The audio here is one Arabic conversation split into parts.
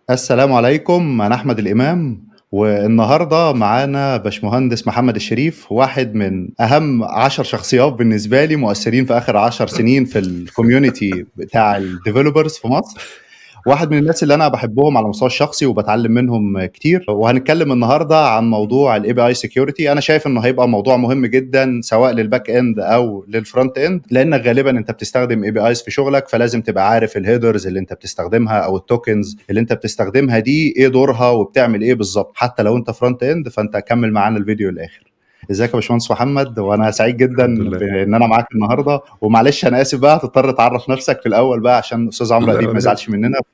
السلام عليكم، أنا أحمد الإمام، والنهاردة معانا باشمهندس محمد الشريف، واحد من أهم 10 شخصيات بالنسبة لي مؤثرين في آخر 10 سنين في الكوميونيتي بتاع الديفلوبرز في مصر. واحد من الناس اللي أنا بحبهم على المستوى الشخصي وبتعلم منهم كتير. وهنتكلم النهاردة عن موضوع ال API Security. أنا شايف إنه هيبقى موضوع مهم جدا سواء للباك إند أو للفرونت إند، لأنك غالبا أنت بتستخدم APIs في شغلك، فلازم تبقى عارف الهيدرز اللي أنت بتستخدمها أو التوكنز اللي أنت بتستخدمها دي إيه دورها وبتعمل إيه بالظبط. حتى لو أنت فرونت إند فأنت كمل معانا الفيديو للآخر. ازيك يا باشمهندس محمد؟ وانا سعيد الحمد جدا لله. بان انا معاك النهارده. ومعلش انا اسف بقى، هتضطر تعرف نفسك في الاول بقى عشان استاذ عمرو لا اديب ما ولا يزعلش يهمك. مننا.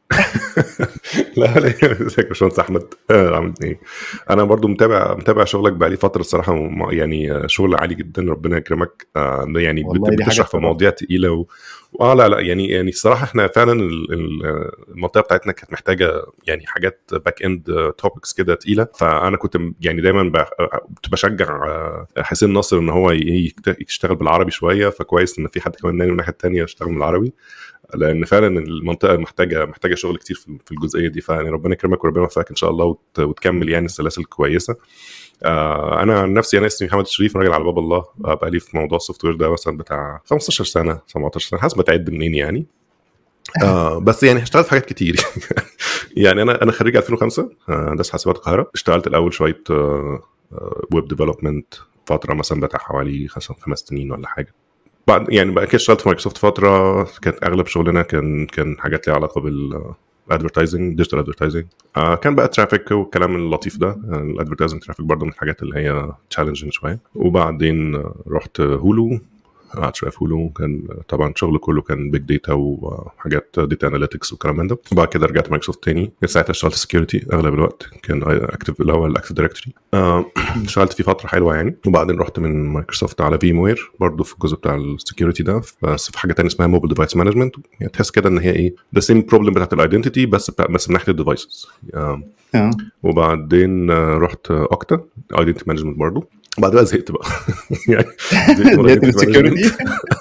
لا ولا يهمك. ازيك يا باشمهندس احمد؟ عامل ايه؟ انا برضو متابع شغلك بقالي فتره الصراحه، يعني شغل عالي جدا، ربنا يكرمك. يعني والله دي حاجه بتشرح في تشرف. مواضيع تقيله لا يعني الصراحه احنا فعلا المنطقه بتاعتنا كانت محتاجه يعني حاجات باك اند توبكس كده تقيله. فانا كنت يعني دايما كنت بشجع حسين ناصر ان هو يشتغل بالعربي شويه، فكويس ان في حد كمان من الناحيه الثانيه يشتغل بالعربي، لان فعلا المنطقه محتاجه شغل كتير في الجزئيه دي. فيعني ربنا يكرمك وربنا يوفقك ان شاء الله وتكمل يعني السلاسل كويسه. انا عن نفسي انا اسمي محمد الشريف، راجل على باب الله. بقى لي في موضوع السوفت وير ده مثلا بتاع 15 سنه 17 سنه حسب تعد منين يعني. بس يعني اشتغلت في حاجات كتير. يعني انا خريج 2005 هندسه حاسبات القاهره. اشتغلت الاول شويه ويب ديفلوبمنت فتره مثلا بتاع حوالي 5 سنين ولا حاجه. بعد يعني بقى كده اشتغلت في مايكروسوفت فتره، كانت اغلب شغلنا كان حاجات ليها علاقه بالادفرتايزنج، ديجيتال ادفرتايزنج. كان بقى ترافيك والكلام اللطيف ده. الادفرتايزنج ترافيك برضه من الحاجات اللي هي تشالنجينج شويه. وبعدين رحت هولو، قعدت شويه في هولو. كان طبعا شغل كله كان بيج داتا وحاجات داتا اناليتكس والكلام من ده. وبعد كده رجعت مايكروسوفت تاني، ساعتها اشتغلت سكيورتي اغلب الوقت، كان اكتف اللي هو الاكتف دايركتوري. اشتغلت فيه فتره حلوه يعني. وبعدين رحت من مايكروسوفت على فيم وير برضه في الجزء بتاع السكيورتي ده، بس في حاجه تانية اسمها موبايل ديفايس مانجمنت. يعني تحس كده ان هي ايه ذا سيم بروبلم بتاعت الايدنتيتي، بس من ناحيه الديفايسز. وبعدين رحت اوكتا ايدنتي مانجمنت برضه. بعد بقى زهقت بقى. يعني زهقت من زيت الايدنتي مانجمنت. السكيورتي.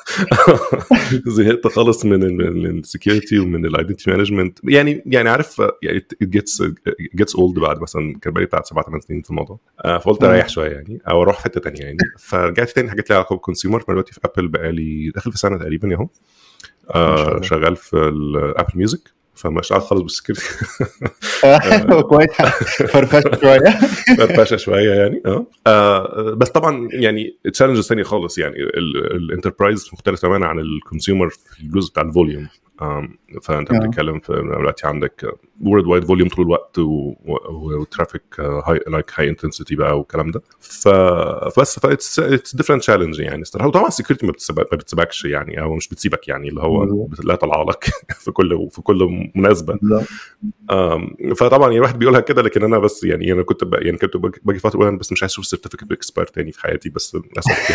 زهقت خالص من السكيورتي ومن الايدنتي مانجمنت. يعني عارف، يعني it gets old. بعد مثلا كان بقالي بتاع 7-8 سنين في الموضوع. فقلت اريح شويه يعني، او اروح في حته ثانيه يعني. فرجعت تاني حاجات ليها علاقه بالكونسيومر. دلوقتي في ابل بقالي داخل في سنه تقريبا اهو. ما شاء الله. شغال في الابل ميوزك، فمش عارف خالص بالسكيورتي. كويس. فرفشت شويه. فرفشه شويه يعني. بس طبعا يعني تشالنجز ثانيه خالص. يعني الانتربرايز مختلف تماما عن الكونسيومر في الجزء بتاع الفوليوم. فانت بتتكلم في دلوقتي عندك وورلد وايد فوليوم طول الوقت، وترافيك هاي انتنسيتي بقى والكلام ده. فبس اتس ديفرنت تشالنج يعني الصراحه. وطبعا السكيورتي ما بتسيبكش يعني، او مش بتسيبك يعني، اللي هو لا طالعه لك في كل مناسبه. فطبعا يعني الواحد بيقولها كده، لكن انا بس يعني انا كنت باجي فتره اقول انا بس مش عايز اشوف سيرتيفيكت اكسبيرت تاني في حياتي، بس للاسف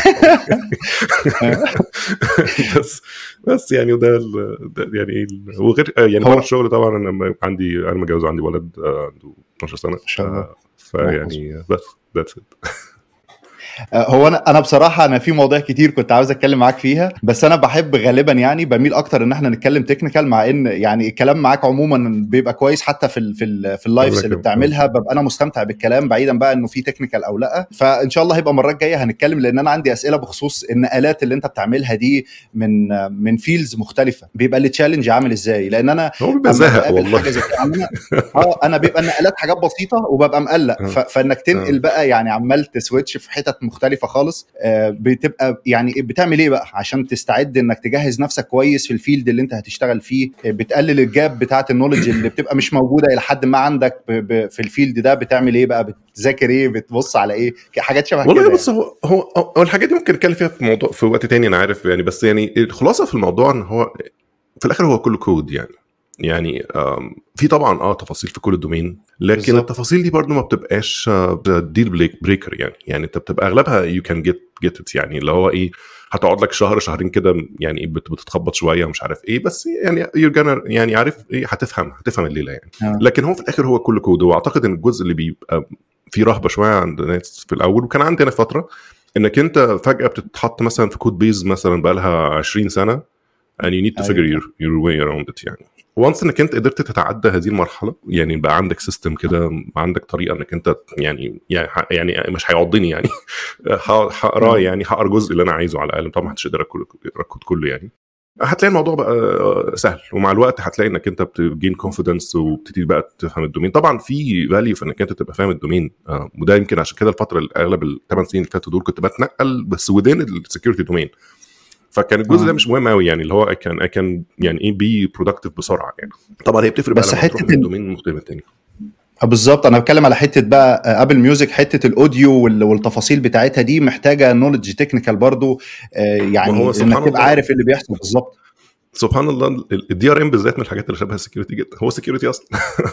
بس يعني ده يعني وغير يعني بره هو الشغل طبعا. انا متجوز وعندي ولد عنده 12 سنه. ما شاء الله. فيعني بس that's it. هو انا بصراحه انا في مواضيع كتير كنت عاوز اتكلم معاك فيها، بس انا بحب غالبا يعني بميل اكتر ان احنا نتكلم تكنيكال، مع ان يعني الكلام معاك عموما بيبقى كويس. حتى في اللايفز اللي بتعملها ببقى انا مستمتع بالكلام، بعيدا بقى انه في تكنيكال او لا. فان شاء الله هيبقى المره الجايه هنتكلم، لان انا عندي اسئله بخصوص النقلات اللي انت بتعملها دي من فيلدز مختلفه. بيبقى التشالنج عامل ازاي؟ لان انا هو بيبقى اما زهق بقابل والله. حاجه زي كده انا بيبقى النقلات حاجات بسيطه وببقى مقلق، اه فانك تنقل اه بقى يعني عمال تسويتش في حتت مختلفه خالص. بتبقى يعني بتعمل ايه بقى عشان تستعد انك تجهز نفسك كويس في الفيلد اللي انت هتشتغل فيه؟ بتقلل الجاب بتاعه النولج اللي بتبقى مش موجوده الى حد ما عندك في الفيلد ده. بتعمل ايه بقى؟ بتذاكر ايه؟ بتبص على ايه؟ حاجات شبه والله كده بص، يعني. هو الحاجات دي ممكن نتكلم فيها في موضوع في وقت تاني انا عارف يعني. بس يعني الخلاصه في الموضوع ان هو في الاخر هو كله كود يعني في طبعا تفاصيل في كل الدومين، لكن بالظبط. التفاصيل دي برضو ما بتبقاش ديل بريكر يعني انت بتبقى اغلبها يو كان جيت ات يعني، اللي هو ايه، هتقعد لك شهر شهرين كده يعني بتتخبط شويه ومش عارف ايه، بس يعني يعني عارف ايه، هتفهم الليله يعني. لكن هو في الاخر هو كله كود. واعتقد ان الجزء اللي بيبقى في رهبه شويه عند الناس في الاول، وكان عندنا فتره، انك انت فجاه بتتحط مثلا في كود بيز مثلا بقى لها 20 سنه and you need to ايوه figure صح. your way around it يعني. وانس انك انت قدرت تتعدى هذه المرحله، يعني بقى عندك سيستم كده، عندك طريقه انك انت يعني مش هيعضني يعني هقراه، يعني هقرا الجزء اللي انا عايزه على الاقل، طبعا محدش يقدر يقرا الكود كله يعني. هتلاقي الموضوع بقى سهل، ومع الوقت هتلاقي انك انت بتجين كونفيدنس وبتبتدي بقى تفهم الدومين. طبعا في فاليو في انك انت تبقى فاهم الدومين، وده يمكن عشان كده الفتره اللي اغلب ال8 سنين اللي فاتوا دول كنت بتنقل بس ودين السكيورتي دومين، فكان الجزء ده مش مهم قوي يعني، اللي هو كان يعني ايه بي برودكتيف بسرعه يعني. طبعا هي بتفرق بقى لما تروح من الدومين المختلف الثاني. بالظبط، انا بتكلم على حته بقى ابل ميوزك، حته الاوديو والتفاصيل بتاعتها دي محتاجه نوليدج تكنيكال برضو، يعني انك تبقى عارف اللي بيحصل بالظبط. سبحان الله الدي ار ام بالذات من الحاجات اللي شبه السكيورتي جدا، هو سكيورتي اصلا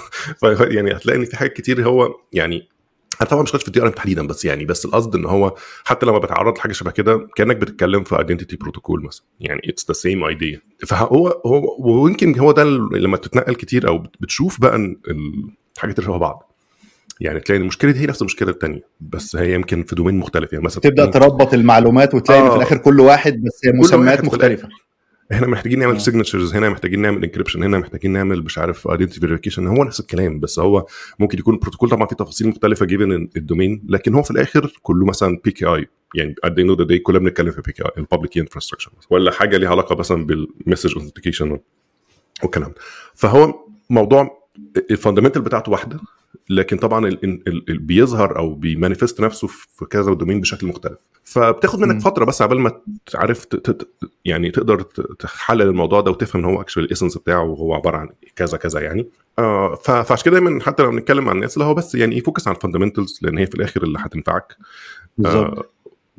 يعني هتلاقي ان في حاجات كتير هو يعني، انا طبعا مش خايف في الدي ار ام تحديدا، بس يعني بس القصد ان هو حتى لما بتعرض لحاجه شبه كده كانك بتتكلم في ايدنتيتي بروتوكول مثلا، يعني اتس ذا سيم ايديا. فهو ويمكن هو ده لما تتنقل كتير او بتشوف بقى الحاجات اللي شبه بعض، يعني تلاقي المشكله دي هي نفس المشكله الثانيه، بس هي يمكن في دومين مختلف. يعني مثلا تبدا تربط المعلومات وتلاقي ان في الاخر كل واحد بس مسميات مختلفه. احنا محتاجين نعمل سيجنتشرز هنا، محتاجين نعمل انكريبشن هنا، محتاجين نعمل مش عارف ايدنتيتي فيريفيكيشن، هو نفس الكلام، بس هو ممكن يكون بروتوكول طبعا فيه تفاصيل مختلفه جيفن الدومين، لكن هو في الاخر كله مثلا بي كي اي، يعني at the end of the day كلنا بنتكلم في بي كي اي البابليك انفراستراكشر، ولا حاجه ليها علاقه مثلا بالمسج اوثنتيكيشن والكلام. فهو موضوع الفاندامنتال بتاعته واحده، لكن طبعا بيظهر او بيمانيفست نفسه في كذا دومين بشكل مختلف، فبتاخد منك فتره بس قبل ما تعرف يعني تقدر تحلل الموضوع ده وتفهم ان هو اكشوال الاسنس بتاعه وهو عباره عن كذا كذا يعني. فعشان كده دايما حتى لو بنتكلم عن الناس اللي هو بس يعني يفوكس على الفاندامنتالز، لان هي في الاخر اللي هتنفعك بالظبط.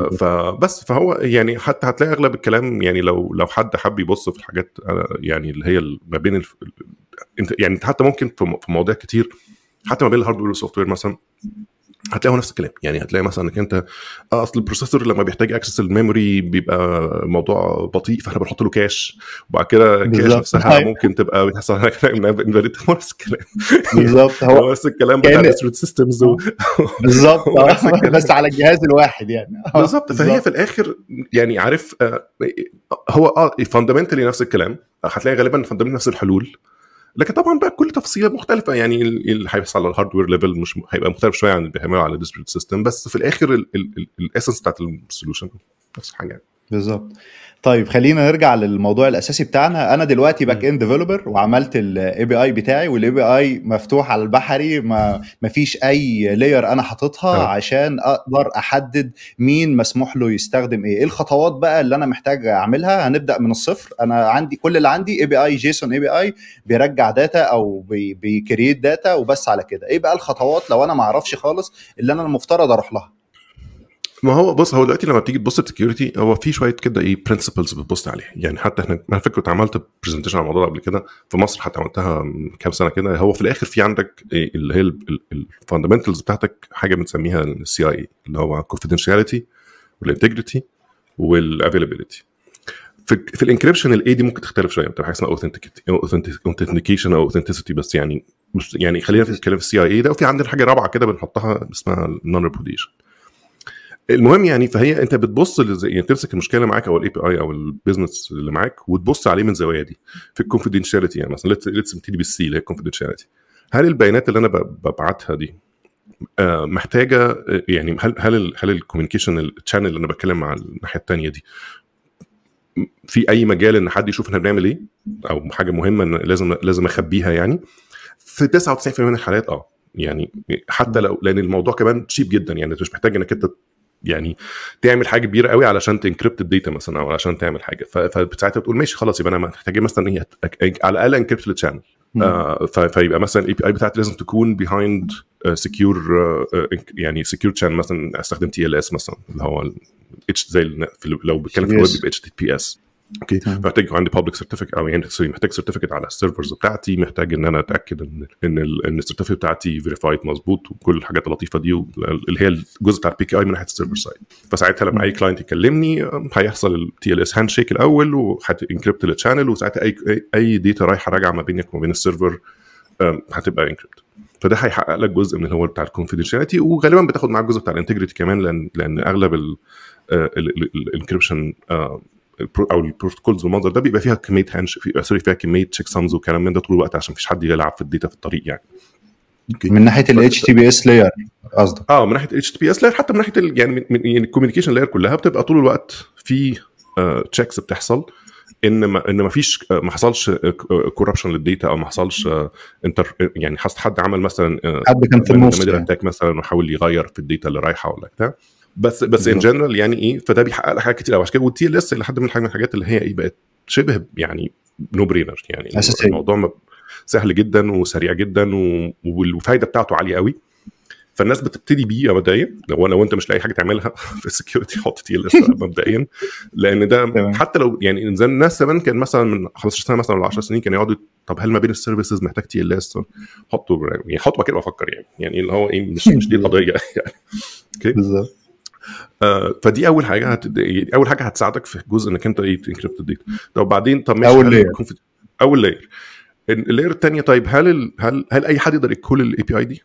فبس فهو يعني حتى هتلاقي اغلب الكلام، يعني لو حد حب يبص في الحاجات يعني اللي هي ما بين انت يعني حتى ممكن في مواضيع كتير حتى ما بين الهاردوير والسوفت وير مثلا هتلاقوا نفس الكلام. يعني هتلاقي مثلا انك انت اصل البروسيسور لما بيحتاج اكسس الميموري بيبقى موضوع بطيء، فاحنا بنحط له كاش، وبعد كده الكاش نفسها ممكن تبقى بتحصل على انفاليد. هو نفس الكلام بالظبط، هو نفس الكلام بتاع الديستريبيوتد سيستمز بالظبط بس على الجهاز الواحد يعني بالظبط. فهي في الاخر يعني عارف هو فاندامنتالي نفس الكلام، هتلاقي غالبا فاندامنتالي نفس الحلول، لكن طبعا بقى كل تفصيله مختلفه. يعني اللي هيحصل على الهاردوير ليفل مش هيبقى مختلف شويه عن اللي بيعمله على الديستريبيوتد سيستم، بس في الاخر الاسنس بتاعت السولوشن نفس الحاجه يعني. بالظبط. طيب خلينا نرجع للموضوع الاساسي بتاعنا. انا دلوقتي باك اند ديفلوبر وعملت الاي بي اي بتاعي، والاي بي اي مفتوح على البحري، ما فيش اي لاير انا حاططها عشان اقدر احدد مين مسموح له يستخدم ايه الخطوات بقى اللي انا محتاج اعملها. هنبدا من الصفر. انا عندي كل اللي عندي اي بي اي جيسون اي بي اي بيرجع داتا او بيكريت داتا وبس على كده. ايه بقى الخطوات لو انا ما اعرفش خالص اللي انا المفترض اروح لها؟ ما هو بص، هو دلوقتي لما بتيجي تبص السكيورتي هو في شويه كده ايه برنسبلز بتبص عليها. يعني حتى احنا انا فاكر كنت عملت برزنتيشن على الموضوع قبل كده في مصر، حتى عملتها كام سنه كده. هو في الاخر في عندك اللي هي الفاندامنتالز بتاعتك، حاجه بنسميها السي اي اللي هو confidentiality والانتجريتي والافيلابيلتي. في الانكريبشن الاي دي ممكن تختلف شويه، بتبقى حاجه اسمها اوثنتيكيشن او اوثنتيسيتي، بس يعني خلينا في الكلام في السي اي ده. وفي عندنا حاجه رابعه كده بنحطها اسمها نون ريبوديشن. المهم يعني فهي انت بتبص يعني تمسك المشكله معاك او الاي بي اي او البيزنس اللي معاك وتبص عليه من زوايا دي. في الكونفيدنشاليتي يعني مثلا ليتس نبتدي بالسي اللي هي الكونفيدنشاليتي. هل البيانات اللي انا ببعتها دي محتاجه يعني هل الكوميونيكيشن الشانل اللي انا بتكلم مع الناحيه الثانيه دي في اي مجال ان حد يشوف احنا بنعمل ايه، او حاجه مهمه ان لازم اخبيها؟ يعني في 99% من الحالات يعني حتى لو، لان الموضوع كمان تشيب جدا، يعني انت مش محتاج انك انت يعني تعمل حاجه كبيره قوي علشان تنكريبت الداتا مثلا او علشان تعمل حاجه. فساعتها بتقول ماشي خلاص يبقى انا محتاج مثلا ايه على الاقل انكريبت الشانل. فيبقى مثلا الاي بي اي بتاعتي لازم تكون بيهايند سكيور يعني سكيور شانل، مثلا استخدم تي ال اس مثلا اللي هو اتش زي لو بتكلم في الويب اتش تي بي اس. اوكي، محتاج عندي بابليك سيرتيفيكت او يعني محتاج سيرتيفيكت على السيرفرز بتاعتي، محتاج ان انا اتاكد ان السيرتيفيكت بتاعتي فيريفايد مظبوط وكل الحاجات اللطيفه دي اللي هي الجزء بتاع البي كي اي من ناحيه السيرفر سايد. فساعتها لما اي كلاينت يكلمني هيحصل التي ال اس هاند شيك الاول وهتنكريبت الشانل، وساعتها اي داتا رايحه راجعه ما بينك وما بين السيرفر هتبقى انكريبت. فده هيحقق لك جزء من اللي هو بتاع الكونفيدنشاليتي، وغالبا بتاخد معاك جزء بتاع الانتجريتي كمان، لان اغلب الانكريبشن او البروتوكولز بالمنظر ده بيبقى فيها كميه هاندش فيها كميه تشيك سامز وكلام من ده طول الوقت عشان مفيش حد يلعب في الداتا في الطريق يعني. من ناحيه ال HTTPS layer قصدك؟ من ناحيه ال HTTPS layer، حتى من ناحيه يعني الكوميونيكيشن لاير كلها بتبقى طول الوقت في تشيكس بتحصل ان ما فيش ما حصلش كوربشن للداتا، او ما حصلش يعني حد عمل مثلا حد كان في النص يعني مثلا وحاول يغير في الداتا اللي رايحه ولا بتاع. بس ان جنرال يعني ايه، فده بيحقق لك حاجات كتير قوي. عشان كده والتي ال اس لحد من الحاجات اللي هي ايه بقت شبه يعني نو برينر، يعني أساسي. الموضوع سهل جدا وسريع جدا والفايده بتاعته عاليه قوي. فالناس بتبتدي بيه مبدئيا. لو انت مش لاقي حاجه تعملها في السكيورتي حط تي ال اس مبدئيا، لان ده حتى لو يعني زي الناس زمان كان مثلا من 15 سنه مثلا ولا 10 سنين كانوا يقعدوا طب هل ما بين السيرفيسز محتاج تي ال اس؟ حطوا كده وافكر يعني اللي هو ايه مش دي القضيه يعني. اوكي بالظبط. فدي اول حاجه هتساعدك في جزء انك انت تنكريبت الداتا. طب بعدين ماشي اول لاير. اللاير الثانيه طيب هل اي حد يقدر يكول الاي بي اي دي؟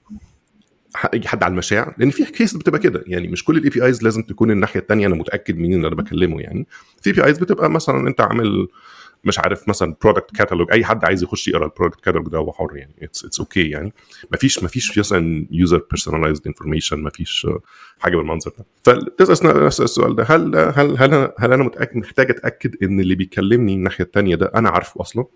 اي حد على المشاع، لان في كيس بتبقى كده يعني مش كل الاي بي ايز لازم تكون الناحيه الثانيه انا متاكد مين اللي انا بكلمه. يعني في بي ايز بتبقى مثلا انت عامل مش عارف مثلا برودكت كاتالوج، اي حد عايز يخش يقرا البرودكت كاتالوج ده هو حر يعني اتس اوكي يعني مفيش مثلا يوزر بيرسوناليزد انفورميشن، مفيش حاجه بالمنظر ده. فتسال نفس السؤال ده، هل انا محتاج اتاكد ان اللي بيكلمني الناحيه الثانيه ده انا عارفه اصلا،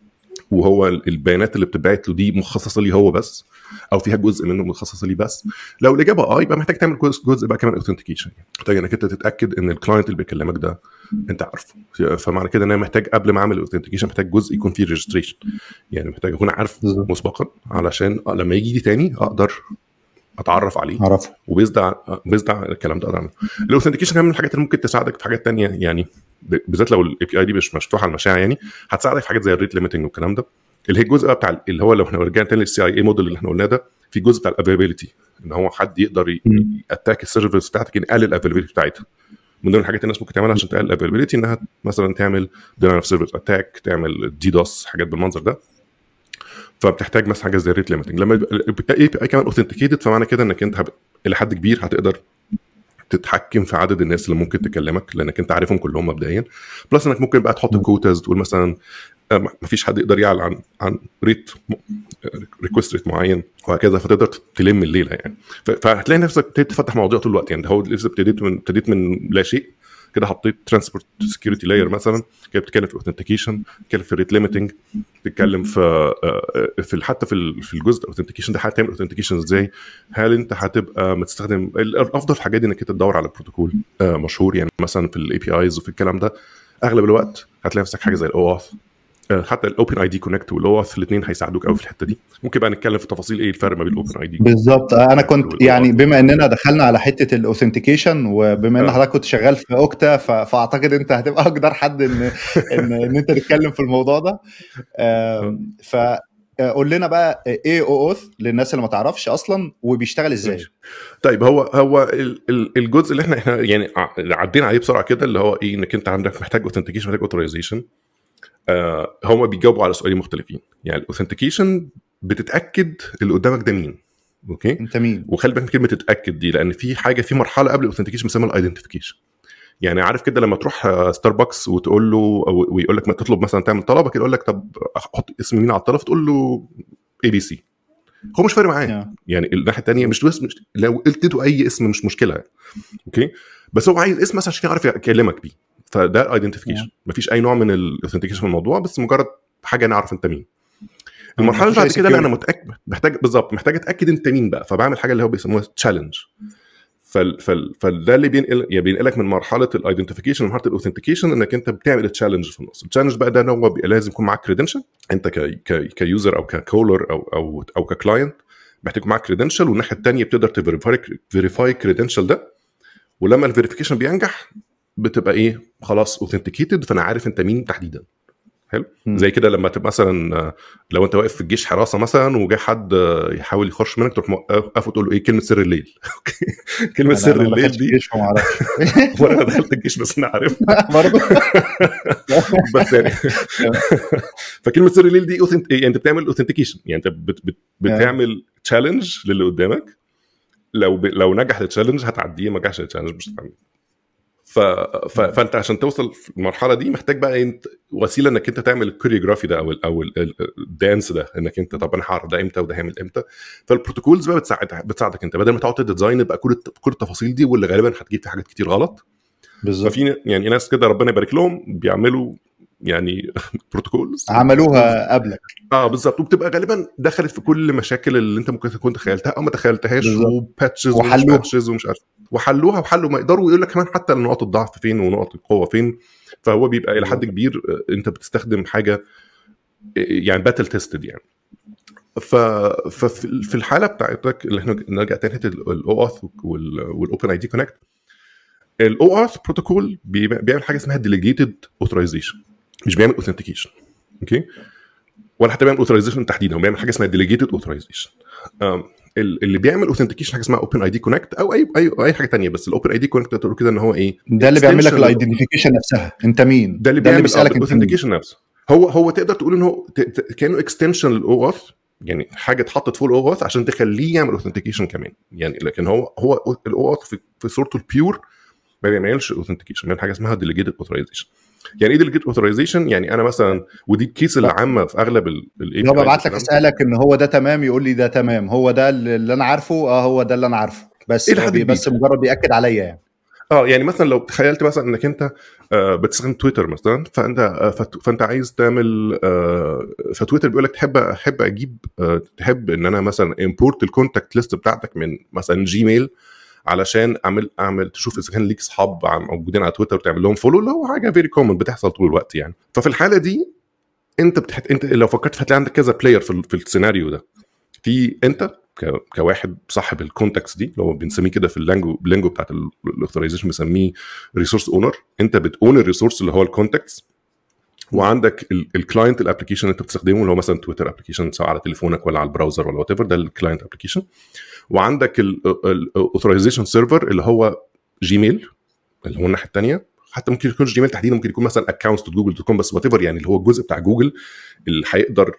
وهو البيانات اللي بتبعت له دي مخصصه لي هو بس، او فيها جزء منه مخصص لي بس؟ لو الاجابه يبقى محتاج تعمل جزء بقى كمان اوثنتيكيشن، محتاج انك انت تتاكد ان الكلاينت اللي بيكلمك ده انت عارفه. فمعنى كده ان انا محتاج قبل ما اعمل اوثنتيكيشن محتاج جزء يكون فيه ريجستريشن، يعني محتاج اكون عارف مسبقا علشان لما يجي لي تاني اقدر اتعرف عليه وبيزدع الكلام ده. اعمل الاوثنتيكيشن كمان من الحاجات اللي ممكن تساعدك في حاجات تانية، يعني بالذات لو الاي بي اي دي مش مفتوحه على المشاع، يعني هتساعدك في حاجات زي الريت ليميتنج والكلام ده، اللي هي الجزء بتاع اللي هو لو احنا رجعنا تاني للسي اي اي موديل اللي احنا قلناه ده، في جزء بتاع الافيلابيلتي، ان هو حد يقدر ياتاك السيرفيس بتاعتك يقلل الافيلابيلتي بتاعتها. من ضمن الحاجات الناس ممكن تعملها عشان تقلل الافيلابيلتي انها مثلا تعمل دينايل اوف سيرفيس اتاك، تعمل دي دوس، حاجات بالمنظر ده. فبتحتاج مثلا حاجه زي الريت ليميتنج. لما الاي بي اي كمان اوثنتيكيتد، فمعنى كده انك انت الى حد كبير هتقدر تتحكم في عدد الناس اللي ممكن تكلمك، لانك انت عارفهم كلهم مبدئيا. بلس انك ممكن بقى تحط كوتاز، تقول مثلا ما فيش حد يقدر يعلن عن ريت ريكوست ريت معين وهكذا، فتقدر تلم الليله يعني. فهتلاقي نفسك تفتح مواضيع طول الوقت. يعني هو لسه ابتديت من لا شيء كده، حطيت ترانسبورت سكيورتي لاير مثلا كده، بتتكلم في اوثنتيكيشن، بتتكلم في ريت ليميتنج، بتتكلم في حتى في الجزء الاوثنتيكيشن ده هتعمل اوثنتيكيشن ازاي. هل انت هتبقى مستخدم الافضل في الحاجات دي انك تدور على بروتوكول مشهور، يعني مثلا في الاي بي ايز وفي الكلام ده اغلب الوقت هتلاقي نفسك حاجه زي الاوث، حتى الاوبن اي دي كونكت والاوث، الاثنين هيساعدوك قوي في الحته دي. ممكن بقى نتكلم في تفاصيل ايه الفرق ما بين الاوبن اي دي بالظبط. انا كنت يعني بما اننا دخلنا على حته الاوثنتيكيشن، وبما ان حضرتك كنت شغال في اوكتا، فاعتقد انت هتبقى اقدر حد ان انت تتكلم في الموضوع ده. فقول لنا بقى ايه اوث للناس اللي ما تعرفش اصلا، وبيشتغل ازاي؟ طيب هو الجزء اللي احنا يعني عدينا عليه بسرعه كده، اللي هو ايه، انك انت عندك محتاج اوثنتيكيشن، محتاج اوثرايزيشن. هم بيجاوبوا على سؤالين مختلفين. يعني الاوثنتيكيشن بتتاكد اللي قدامك ده مين، اوكي انت مين، وخلي بالك من كلمه تتاكد دي، لان في حاجه في مرحله قبل الاوثنتيكيشن بنسميها الايدنتيفيكيشن. يعني عارف كده لما تروح ستاربكس وتقول له ويقول لك ما تطلب مثلا تعمل طلب كده، يقول لك طب احط اسم مين على الطلب، تقول له اي بي سي، هو مش فارق معاه يعني الناحيه الثانيه مش لو قلت له اي اسم مش مشكله، اوكي، بس هو عايز اسم مثلا عشان يعرف يكلمك بيه. فده ايدنتيفيكيشن، مفيش اي نوع من الاوثنتيكيشن في الموضوع، بس مجرد حاجه نعرف انت مين. المرحله اللي بعد كده لا، انا متاكد محتاج اتاكد انت مين بقى، فبعمل حاجه اللي هو بيسموها تشالنج. فده اللي بينقلك من مرحله الايدنتيفيكيشن لمرحله الاوثنتيكيشن، انك انت بتعمل تشالنج في النص. التشالنج بقى ده هو لازم يكون معاك كريدنشال، انت كيوزر او ككولر او ككلاينت محتاج يكون معاك كريدنشال، والناحيه الثانيه بتقدر تفيريفاي كريدنشال ده، ولما الفيريفيكيشن بينجح بتبقى ايه، خلاص اوثنتيكيتد، فانا عارف انت مين تحديدا. حلو. زي كده لما تبقى مثلا لو انت واقف في الجيش حراسه مثلا وجاي حد يحاول يخش منك، تروح موقف وتقول له ايه كلمه سر الليل. كلمه سر الليل دي وانا دخلت الجيش بس انا عارف برضه بس يعني فكلمه سر الليل دي يعني انت بتعمل اوثنتيكيشن، يعني انت بتعمل تشالنج للي قدامك. لو نجح التشالنج هتعديه، ما نجحش التشالنج مش هتعمل. فانت عشان توصل المرحله دي محتاج بقى انت وسيله انك انت تعمل الكوريوغرافي ده او الدانس ده، انك انت طب انا هعرض ده امتى وده هيعمل امتى. فالبروتوكولز بقى بتساعدك انت بدل ما تقعد تديزاين بقى كل التفاصيل دي، واللي غالبا هتجيب في حاجات كتير غلط. بالظبط. ففي يعني ناس كده ربنا يبارك لهم بيعملوا يعني بروتوكولز عملوها قبلك. بالظبط، وبتبقى غالبا دخلت في كل مشاكل اللي انت ممكن تكون تخيلتها او ما تخيلتهاش، وباتشز ومش باتشز ومش عارف، وحلوا ما يقدروا يقول لك كمان حتى نقاط الضعف فين ونقاط القوه فين. فهو بيبقى الى حد كبير انت بتستخدم حاجه يعني باتل تيستد يعني. ففي الحاله بتاعتك اللي احنا نرجع تاني الاوث والاوبن اي دي كونكت. الاوث بروتوكول بيعمل حاجه اسمها ديليجيتد اوثرايزيشن، مش بيعمل اوثنتيكيشن. اوكي، ولا حتى بيعمل اوثرايزيشن تحديدا، هو بيعمل حاجه اسمها ديليجيتد اوثرايزيشن. اللي بيعمل اوثنتيكيشن حاجه اسمها اوبن اي دي كونكت او اي حاجه تانية. بس الاوبن اي دي كونكت تقول كده ان هو ايه، ده اللي بيعمل لك الايدنتيفيكيشن نفسها، انت مين، ده اللي بيسالك الاوثنتيكيشن نفسه. هو تقدر تقول ان هو كانه اكستنشن للاوث، يعني حاجه اتحطت فوق الاوث عشان تخليه يعمل اوثنتيكيشن كمان يعني. لكن هو الاوث في صورته البيور ما بيعملش اوثنتيكيشن، بيعمل حاجه اسمها ديليجيتد اوثرايزيشن. يعني ايه ديليجيتد اوثرايزيشن؟ يعني انا مثلا، ودي الكيس العامه في اغلب الاي بي اي، ببعت لك اسالك ان هو ده تمام، يقول لي ده تمام، هو ده اللي انا عارفه، هو ده اللي انا عارفه، بس بس مجرد بياكد عليا يعني. يعني مثلا لو تخيلت مثلا انك انت بتستخدم تويتر مثلا، فانت عايز تعمل فتويتر بيقول لك تحب اجيب تحب ان انا مثلا امبورت الكونتاكت ليست بتاعتك من مثلا جيميل علشان اعمل تشوف اذا كان ليك اصحاب موجودين على تويتر وتعمل لهم فولو، لو حاجه فيري كومن بتحصل طول الوقت يعني. ففي الحاله دي انت لو فكرت هتلاقي عندك كذا بلاير في السيناريو ده. في انت كواحد صاحب الكونتاكتس دي، لو بنسميه كده في اللانجو بتاعت الاوثرايزيشن بنسميه ريسورس اونر. انت بتاون الريسورس اللي هو الكونتاكتس، وعندك الكلاينت الابلكيشن اللي انت بتستخدمه اللي هو مثلا تويتر ابلكيشن سواء على تليفونك ولا على البراوزر ولا وات ايفر، ده الكلاينت ابلكيشن. وعندك الاوثرايزيشن سيرفر اللي هو جيميل اللي هو الناحيه الثانيه. حتى ممكن يكون جيميل تحديدا، ممكن يكون مثلا اكونتس جوجل دوت كوم، بس وات ايفر يعني اللي هو الجزء بتاع جوجل اللي هيقدر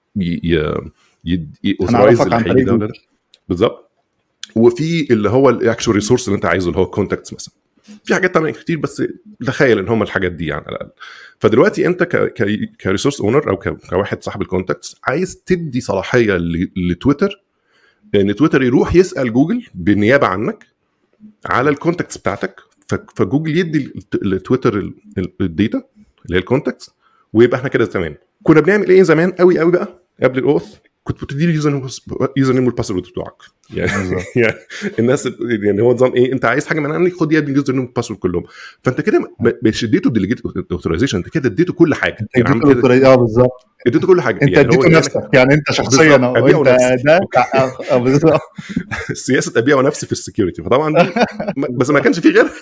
يوثرايز اللي هيجي ده بالظبط. وفي اللي هو الاكشوال ريسورس اللي انت عايزه اللي هو الكونتاكتس مثلا. في حاجات تانية كتير بس تخيل ان هم الحاجات دي يعني على الاقل. فدلوقتي انت كريسورس اونر او كواحد صاحب الكونتاكتس عايز تدي صلاحيه لتويتر ان تويتر يروح يسال جوجل بالنيابه عنك على الكونتاكتس بتاعتك، فجوجل يدي لتويتر الداتا اللي هي الكونتاكتس، ويبقى احنا كده تمام. كنا بنعمل ايه زمان قوي بقى قبل الاوث؟ كنت بتدي لي يوزر نيم والباسورد بتوعك يعني الناس يعني هو نظام ايه، انت عايز حاجه من عندي خد يا ابني اليوزر نيم والباسورد كلهم. فانت كده مش اديته ديليجيت اوثرايزيشن، انت كده اديته كل حاجه يعني عم كده بالظبط، اديته كل حاجه انت اديته يعني نفسك يعني انت شخصيا انت ده بالظبط سياسه ابيع نفسي في السكيورتي. فطبعا دي بس ما كانش فيه غيرها.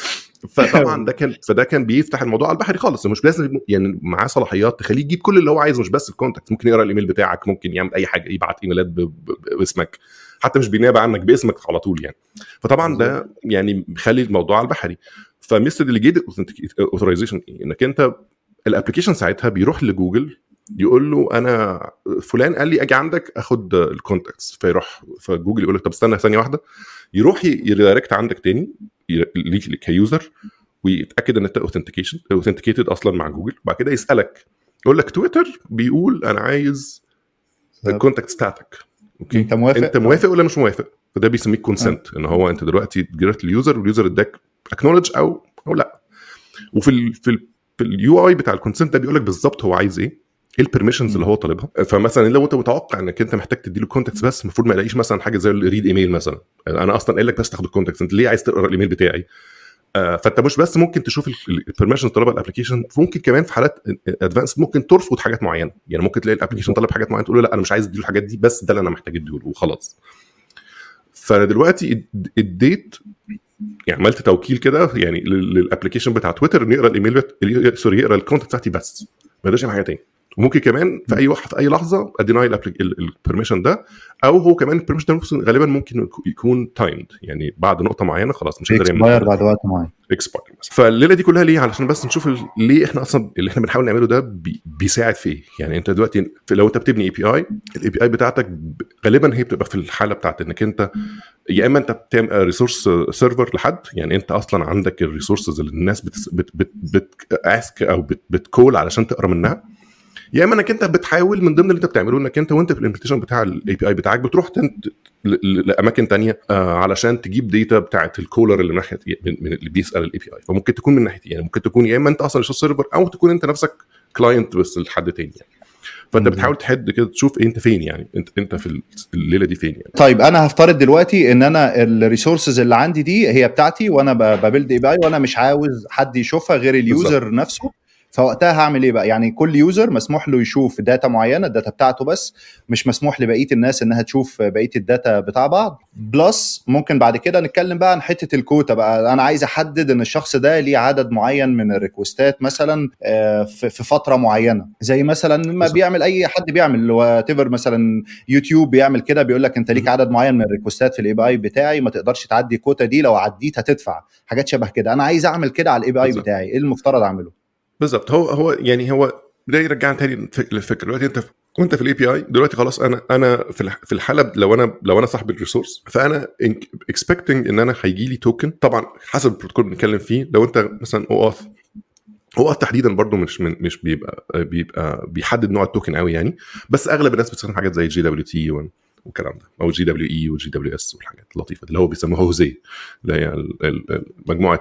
فطبعا ده كان بيفتح الموضوع على البحري خالص. مش لازم يعني معاه صلاحيات تخليه يجيب كل اللي هو عايزه، مش بس الكونتاكت، ممكن يقرا الايميل بتاعك، ممكن يعمل اي حاجه، يبعت ايميلات باسمك، حتى مش بينابع عنك باسمك على طول يعني. فطبعا ده يعني بيخلي الموضوع على البحري. فمستر ديليجيتد اوثرايزيشن انك انت الابلكيشن ساعتها بيروح لجوجل يقول له انا فلان قال لي اجي عندك اخد الكونتاكتس، فيروح فجوجل يقول لك طب استنى ثانيه واحده، يروح يريدايركت عندك تاني ليك كيوزر ويتاكد ان انت اوثنتيكيتد اصلا مع جوجل. بعد كده يسالك يقول لك تويتر بيقول انا عايز الكونتاكتس بتاعتك، اوكي انت موافق ولا مش موافق؟ فده بيسميه كونسنت، ان هو انت دلوقتي جريت اليوزر واليوزر اداك اكنولج او لا. وفي اليو اي بتاع الكونسنت ده بيقول لك بالظبط هو عايز ايه البرميشنز اللي هو طالبها. فمثلا لو انت متوقع انك انت محتاج تديله كونتاكتس بس، المفروض ما يلاقيش مثلا حاجه زي الريد ايميل مثلا. انا اصلا قايل لك بس تاخد الكونتاكتس، انت ليه عايز تقرا الايميل بتاعي؟ فانت مش بس ممكن تشوف البرميشنز طلبها الابلكيشن، ممكن كمان في حالات ادفانس ممكن ترفض حاجات معينه. يعني ممكن تلاقي الابلكيشن طلب حاجات معينه تقول له لا انا مش عايز اديله الحاجات دي، بس ده اللي انا محتاج اديله وخلاص. فانا دلوقتي اديت يعني عملت توكيل كده يعني للابلكيشن بتاع تويتر انه يقرا الايميل يقرا الكونتاكت بتاعتي بس، ما يقدرش يعمل حاجه تاني. وممكن كمان في اي لحظه اديناي البرميشن ده، او هو كمان البرميشن ده غالبا ممكن يكون تايمد، يعني بعد نقطه معينه خلاص مش قادر يعمل بعد وقت معين اكسباير. فالليله دي كلها ليه؟ علشان بس نشوف ليه احنا اصلا اللي احنا بنحاول نعمله ده بيساعد في ايه. يعني انت دلوقتي لو انت بتبني اي بي اي بتاعتك غالبا هي بتبقى في الحاله بتاعت انك انت يا اما انت بتعمل ريسورس سيرفر لحد، يعني انت اصلا عندك الريسورسز اللي الناس بتاسك او بتكول علشان تقرا منها، يا اما انك انت بتحاول من ضمن اللي انت بتعمله انك انت وانت في الامبلمنتيشن بتاع الاي بي اي بتاعك بتروح لاماكن تانية علشان تجيب داتا بتاعت الكولر اللي ناحيه من اللي بيسال الاي بي اي. فممكن تكون من ناحيه، يعني ممكن تكون يا اما انت اصلا ريسورس سيرفر او تكون انت نفسك كلاينت بس لحد تاني يعني. فانت بتحاول تحد كده تشوف انت فين، يعني انت في الليله دي فين يعني. طيب انا هفترض دلوقتي ان انا الريسورسز اللي عندي دي هي بتاعتي وانا ببيلد اي بي اي وانا مش عاوز حد يشوفها غير اليوزر بالزبط. نفسه، فوقتها هعمل ايه بقى؟ يعني كل يوزر مسموح له يشوف داتا معينه، الداتا بتاعته بس، مش مسموح لبقيه الناس انها تشوف بقيه الداتا بتاع بعض. بلس ممكن بعد كده نتكلم بقى عن حته الكوتا بقى، انا عايز احدد ان الشخص ده ليه عدد معين من الريكوستات مثلا في فتره معينه، زي مثلا ما بيعمل اي حد بيعمل واتيفر، مثلا يوتيوب بيعمل كده، بيقول لك انت ليك عدد معين من الريكوستات في الاي بي اي بتاعي، ما تقدرش تعدي الكوتا دي، لو عديت هتدفع، حاجات شبه كده. انا عايز اعمل كده على الاي بي اي بتاعي، ايه المفترض اعمله؟ بالظبط. هو يعني هو ده يرجعنا تاني للفكره. دلوقتي انت وانت في الاي بي اي دلوقتي خلاص، انا في الحاله لو انا صاحب الريسورس، فانا اكسبكتنج ان انا هيجي لي توكن، طبعا حسب البروتوكول بنتكلم فيه. لو انت مثلا اوث تحديدا برضو مش بيبقى بيحدد نوع التوكن قوي يعني، بس اغلب الناس بتستخدم حاجات زي جي دبليو تي والكلام ده، او جي دبليو اي وجي دبليو اس والحاجات اللطيفه اللي هو بيسموها هوزي، اللي هي مجموعه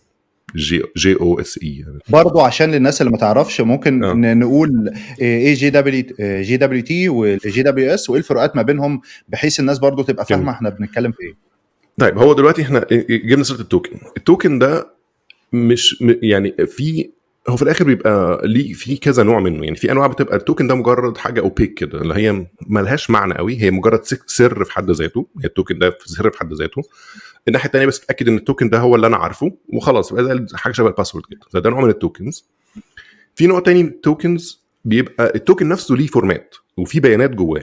جي او اس اي يعني. برضو عشان للناس اللي ما تعرفش ممكن نقول ايه جي دبليو تي والجي دبليو اس، وايه الفروقات ما بينهم، بحيث الناس برضو تبقى فاهمه احنا بنتكلم في ايه. طيب هو دلوقتي احنا جبنا سيره التوكن ده، مش يعني هو في الاخر بيبقى ليه في كذا نوع منه. يعني في انواع بتبقى التوكن ده مجرد حاجه اوبيك كده، اللي هي ملهاش معنى قوي، هي مجرد سر في حد ذاته، هي التوكن ده سر في حد ذاته. الناحيه الثانيه بس تتاكد ان التوكن ده هو اللي انا عارفه وخلاص، يبقى زي حاجه شبه الباسورد كده. ده نوع من التوكنز. في نوع تاني من التوكنز بيبقى التوكن نفسه ليه فورمات وفي بيانات جواه.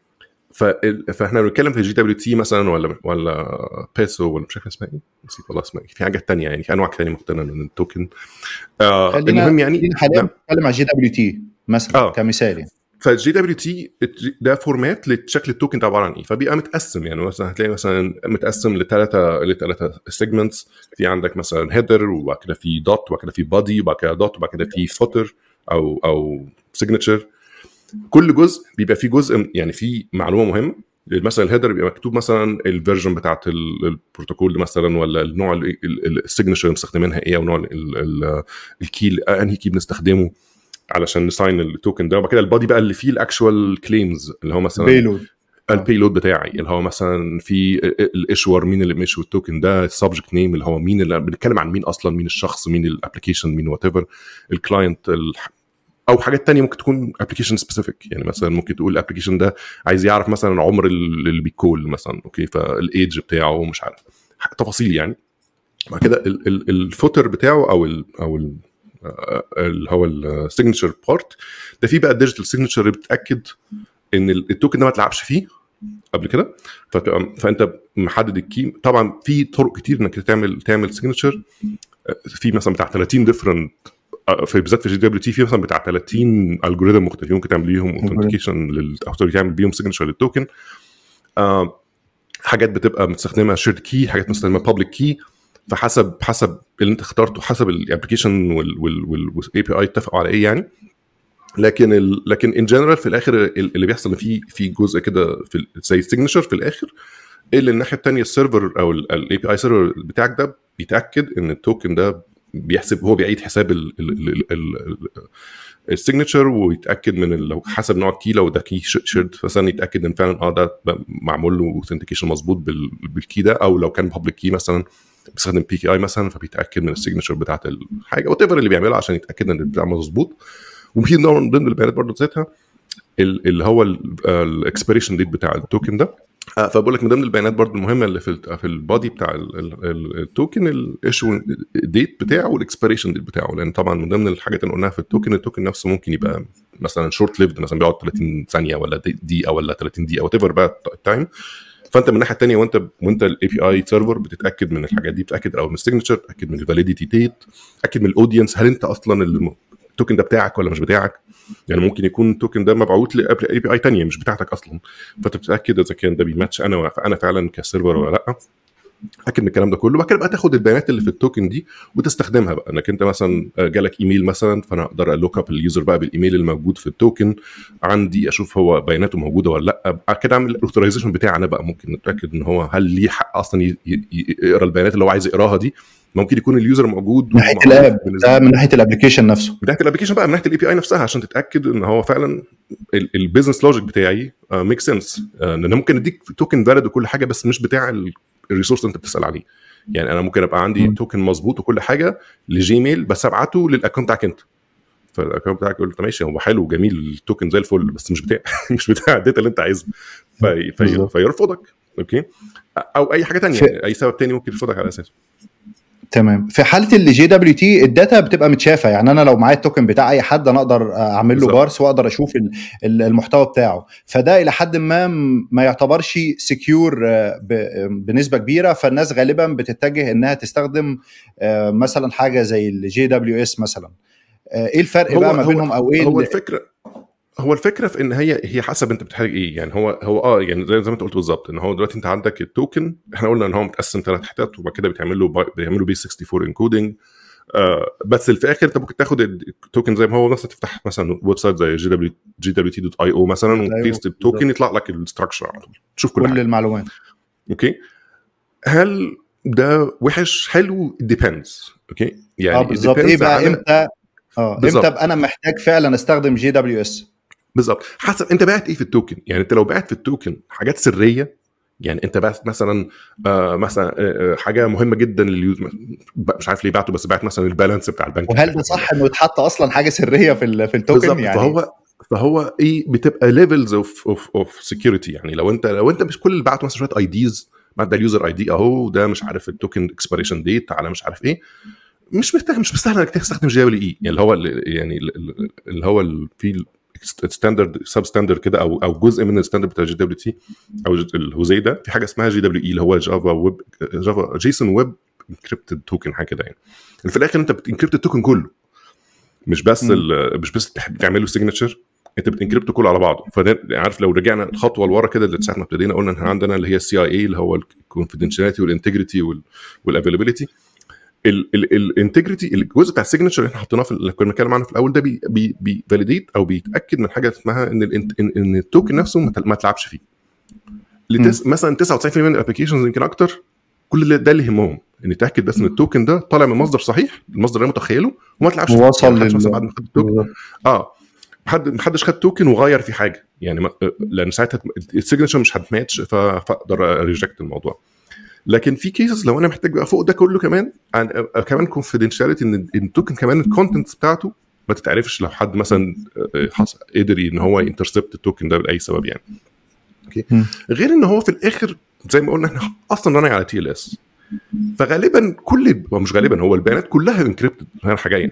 فاحنا بنتكلم في جي دبليو تي مثلا ولا بيسو ولا مش عارف اسمها ايه، نسيت والله اسمها ايه. في حاجات تانية يعني، في انواع ثانيه مختلفه من التوكن. المهم يعني حاليا بنتكلم على جي دبليو تي مثلا كمثال يعني. فالجي دبليو تي ده فورمات لشكل التوكن ده عباره عن ايه. فبيبقى متقسم، يعني مثلا هتلاقي مثلا متقسم لثلاثه سيجمنتس. في عندك مثلا هيدر، وبعد كده في دوت، وبعد كده في بادي، وبعد كده دوت، وبعد كده في فوتر او سيجنتشر. كل جزء بيبقى فيه جزء يعني فيه معلومه مهمه. مثلا الهيدر بيبقى مكتوب مثلا الفيرجن بتاعه البروتوكول مثلا، ولا النوع السيجنتشر مستخدمينها ايه، او نوع الكي انهي كي بنستخدمه علشان نساين التوكن ده. وبعد كده البادي بقى اللي فيه الاكشوال كليمز، اللي هو مثلا البيلود بتاعي، اللي هو مثلا في الايشور، مين اللي مشوا التوكن ده، السبجكت نيم اللي هو مين، اللي بنتكلم عن مين اصلا، مين الشخص، مين الابلكيشن، مين وات ايفر الكلاينت، او حاجات تانية ممكن تكون ابلكيشن سبيسيفيك. يعني مثلا ممكن تقول الابلكيشن ده عايز يعرف مثلا عمر اللي بيكول مثلا، اوكي، فالايدج بتاعه مش عارف تفاصيل يعني. بعد كده الفوتر بتاعه او اللي هو السيجنتشر بارت ده، فيه بقى الديجيتال سيجنتشر اللي بتاكد ان التوكن ده ما تلعبش فيه قبل كده. فانت محدد الكي. طبعا في طرق كتير انك تعمل سيجنتشر، في مثلا بتاع 30 ديفرنت، في بالذات في جي دبليو تي في مثلا بتاع 30 الجوريثم مختلفين ممكن تعمل بيهم اوثنتيكيشن للاوثوريتي، تعمل بيهم سيجنتشر للتوكن. حاجات بتبقى مستخدمه شيرد كي، حاجات مستخدمه بابليك كي. فحسب اللي انت اخترته، حسب الابلكيشن والاي بي اي اتفقوا على ايه يعني. لكن ان جنرال في الاخر اللي بيحصل في جزء كده في زي السيجنتشر في الاخر، اللي الناحيه الثانيه السيرفر او الاي بي اي سيرفر بتاعك ده بيتاكد ان التوكن ده بيحسب، هو بيعيد حساب السيجنتشر، ويتاكد من لو حسب نوع الكي، لو ده كي شيرد مثلا يتاكد ان فعلا ده معمول له اوثنتيكيشن مظبوط بالكي ده، او لو كان بابليك كي مثلا بيستخدم بي كي اي مثلا، فبيتاكد من السيجنتشر بتاعه الحاجه وات ايفر اللي بيعملها عشان يتاكد ان البتاع مظبوط. وفي نوع من ضمن البيانات برضه ذاتها اللي هو الاكسبيريشن ديت بتاع التوكن ده. فبقول لك من ضمن البيانات برضو المهمه اللي في البادي بتاع التوكن الايشو ديت بتاعه والاكسبيريشن ديت بتاعه، لان طبعا من ضمن الحاجات اللي قلناها في التوكن نفسه ممكن يبقى مثلا شورت ليفد، مثلا بيقعد 30 ثانيه ولا دقيقه ولا 30 دقيقه وات ايفر بقى التايم. فانت من الناحيه الثانيه وانت الاي بي اي سيرفر بتتاكد من الحاجات دي، بتتاكد او من السيجنتشر، تتاكد من الفاليديتي ديت، تتاكد من الاودينس، هل انت اصلا التوكن ده بتاعك ولا مش بتاعك. يعني ممكن يكون التوكن ده مبعوث لاي بي اي ثانيه مش بتاعتك اصلا، فانت بتتاكد اذا كان ده بيماتش انا فعلا كسيرفر ولا لا. اكد من الكلام ده كله، وبعد كده بقى تاخد البيانات اللي في التوكن دي وتستخدمها بقى، انك انت مثلا جالك ايميل مثلا، فانا اقدر الوك اب اليوزر بقى بالايميل الموجود في التوكن عندي، اشوف هو بياناته موجوده ولا لا، بعد كده اعمل الاوثرايزيشن بتاعي انا بقى، ممكن نتاكد ان هو هل ليه حق اصلا يقرا البيانات اللي هو عايز يقراها دي. ممكن يكون اليوزر موجود من ناحيه الاب ده، من ناحيه الابلكيشن نفسه، من ناحيه الابلكيشن بقى، من ناحيه الاي بي اي نفسها، عشان تتاكد ان هو فعلا البيزنس لوجيك بتاعي ميك سنس. لان ممكن اديك توكن فاليد وكل حاجه بس مش بتاع الريسورس اللي انت بتسال عليه. يعني انا ممكن ابقى عندي توكن مظبوط وكل حاجه لجيميل، بس ابعته للاكونت بتاعك انت، فالاكونت بتاعك يقول ماشي هو حلو وجميل التوكن زي الفل، بس مش بتاع مش بتاع الداتا اللي انت عايزها، فيرفضك. اوكي، او اي حاجه تانية، اي سبب تاني ممكن يرفضك على اساسه. تمام. في حاله اللي جي دبليو تي الداتا بتبقى متشافه، يعني انا لو معايا التوكن بتاع اي حد انا اقدر اعمل له بارس واقدر اشوف المحتوى بتاعه، فده الى حد ما يعتبرش سكيور بنسبه كبيره، فالناس غالبا بتتجه انها تستخدم مثلا حاجه زي الجي دبليو اس مثلا. ايه الفرق بقى ما بينهم او ايه هو الفكره في ان هي حسب انت بتحتاج ايه. يعني هو يعني زي ما انت قلت بالظبط، ان هو دلوقتي انت عندك التوكن، احنا قلنا ان هو متقسم 3 حتت، وبعد كده بيعملوا بي 64 انكودنج. بس في الاخر انت ممكن تاخد التوكن زي ما هو، مثلا تفتح مثلا ويب سايت زي gwt.io مثلا وبيست التوكن يطلع لك الاستراكشر على طول، تشوف كل المعلومات. اوكي، هل ده وحش حلو؟ ديبندز. اوكي يعني بالظبط. ايه بقى امتى امتى انا محتاج فعلا استخدم جي دبليو اس؟ بالظبط، حسب انت بعت ايه في التوكن. يعني انت لو بعت في التوكن حاجات سريه، يعني انت بعت مثلا حاجه مهمه جدا لليوزر، مش عارف ليه بعته، بس بعت مثلا البالانس بتاع البنك، وهل ده صح انه يتحط اصلا حاجه سريه في التوكن؟ يعني فهو ايه، بتبقى ليفلز اوف سكيورتي. يعني لو انت مش كل اللي بعته مثلا شويه اي ديز، بعد ده اليوزر اي دي اهو، ده مش عارف التوكن اكسبيريشن ديت على مش عارف ايه، مش مستاهل انك تستخدم جي دبليو اي. يعني اللي هو في ستاندرد سب ستاندرد كده، او جزء من الستاندرد بتاع جي دبليو تي او الهوزي ده، في حاجه اسمها جي دبليو اي اللي هو جافا جيسون ويب انكريبتد توكن، حاجه كده. يعني في الاخر انت بتنكريبت التوكن كله، مش بس بتعمل له سيجنتشر، انت بتنكريبت كله على بعضه. فعارف لو رجعنا الخطوه لورا كده اللي ساعه ما ابتدينا قلنا ان عندنا اللي هي السي اي اي اللي هو الكونفيدنشاليتي والانتجريتي والافيلابيلتي. الانتجريتي الجزء بتاع السيجنتشر اللي احنا حطيناه اللي كنا بنتكلم عنه في الاول ده بيفاليديت او بيتاكد من حاجه اسمها ان التوكن نفسه ما تلعبش فيه. مثلا 99% من الابلكيشنز يمكن اكتر، كل ده اللي يهمهم ان يتاكد بس ان التوكن ده طالع من مصدر صحيح، المصدر اللي متخيله، وما تلعبش فيه. وصل يعني مثلا بعد ما خد التوكن محدش خد توكن وغير في حاجه، يعني لان ساعتها السيجنتشر مش هتماتش، فاقدر ريجكت الموضوع. لكن في كيسز لو انا محتاج بقى فوق ده كله كمان كونفيدنشاليتي، ان التوكن كمان الكونتنت بتاعته ما تتعرفش لو حد مثلا قدر ان هو ينترسبت التوكن ده باي سبب يعني. اوكي، غير ان هو في الاخر زي ما قلنا احنا اصلا راني على تي ال اس، فغالبا مش غالبا هو البيانات كلها انكريبتد رايحه جايه.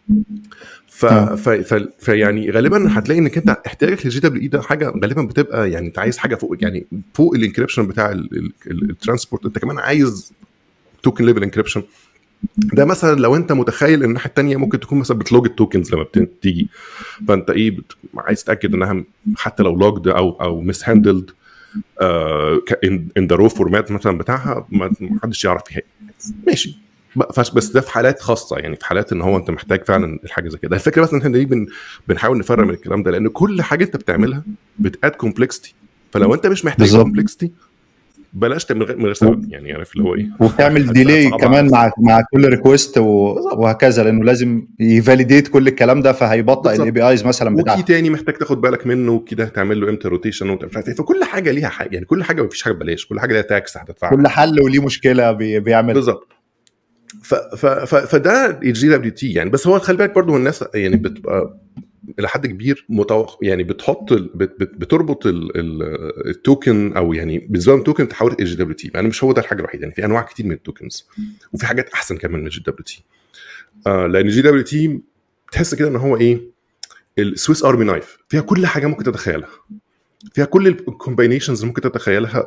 يعني غالبا هتلاقي انك انت احتياجك للجي دبليو اي ده حاجه غالبا بتبقى يعني انت عايز حاجه فوق، يعني فوق الانكريبشن بتاع الترانسبورت، انت كمان عايز توكن ليفل انكريبشن. ده مثلا لو انت متخيل ان الناحيه الثانيه ممكن تكون مثلا بتلوج التوكنز لما بتيجي، فانت ايه عايز تتاكد انها حتى لو لوجد او مس هاندلد ان ذا رو فورمات مثلا بتاعها، ما حدش يعرف فيها. ماشي، بس ده في حالات خاصه، يعني في حالات ان هو انت محتاج فعلا الحاجه زي كده. الفكره بس ان احنا دي بنحاول نفرق من الكلام ده، لان كل حاجه انت بتعملها بتاد كومبلكسيتي، فلو انت مش محتاج كومبلكسيتي بلاش تعمل من غير سبب، يعني عارف اللي هو ايه، وتعمل ديلي كمان مع كل ريكوست وهكذا، لانه لازم يفاليديت كل الكلام ده، فهيبطئ الاي بي ايز مثلا بتاعته. وكي تاني محتاج تاخد بالك منه وكده، تعمل له امتى روتيشن ومش عارف ايه. فكل حاجه ليها حاجه، يعني كل حاجه مفيش حاجه ببلاش، كل حاجه ليها تاكس هتدفعها، كل حل وليه مشكله بيعمل بالظبط. فده الجي دبليو تي يعني. بس هو خلي بالك برضو الناس يعني بتبقى الى حد كبير يعني بتحط بتربط التوكن، او يعني بالنسبه للتوكن تحول الجي دبليو تي. يعني مش هو ده الحاجه الوحيده، يعني في انواع كتير من التوكنز وفي حاجات احسن كمان من الجي دبليو تي. لان الجي دبليو تي تحس كده ان هو ايه السويس ارمي نايف، فيها كل حاجه ممكن تتخيلها، فيها كل الكومباينيشنز اللي ممكن تتخيلها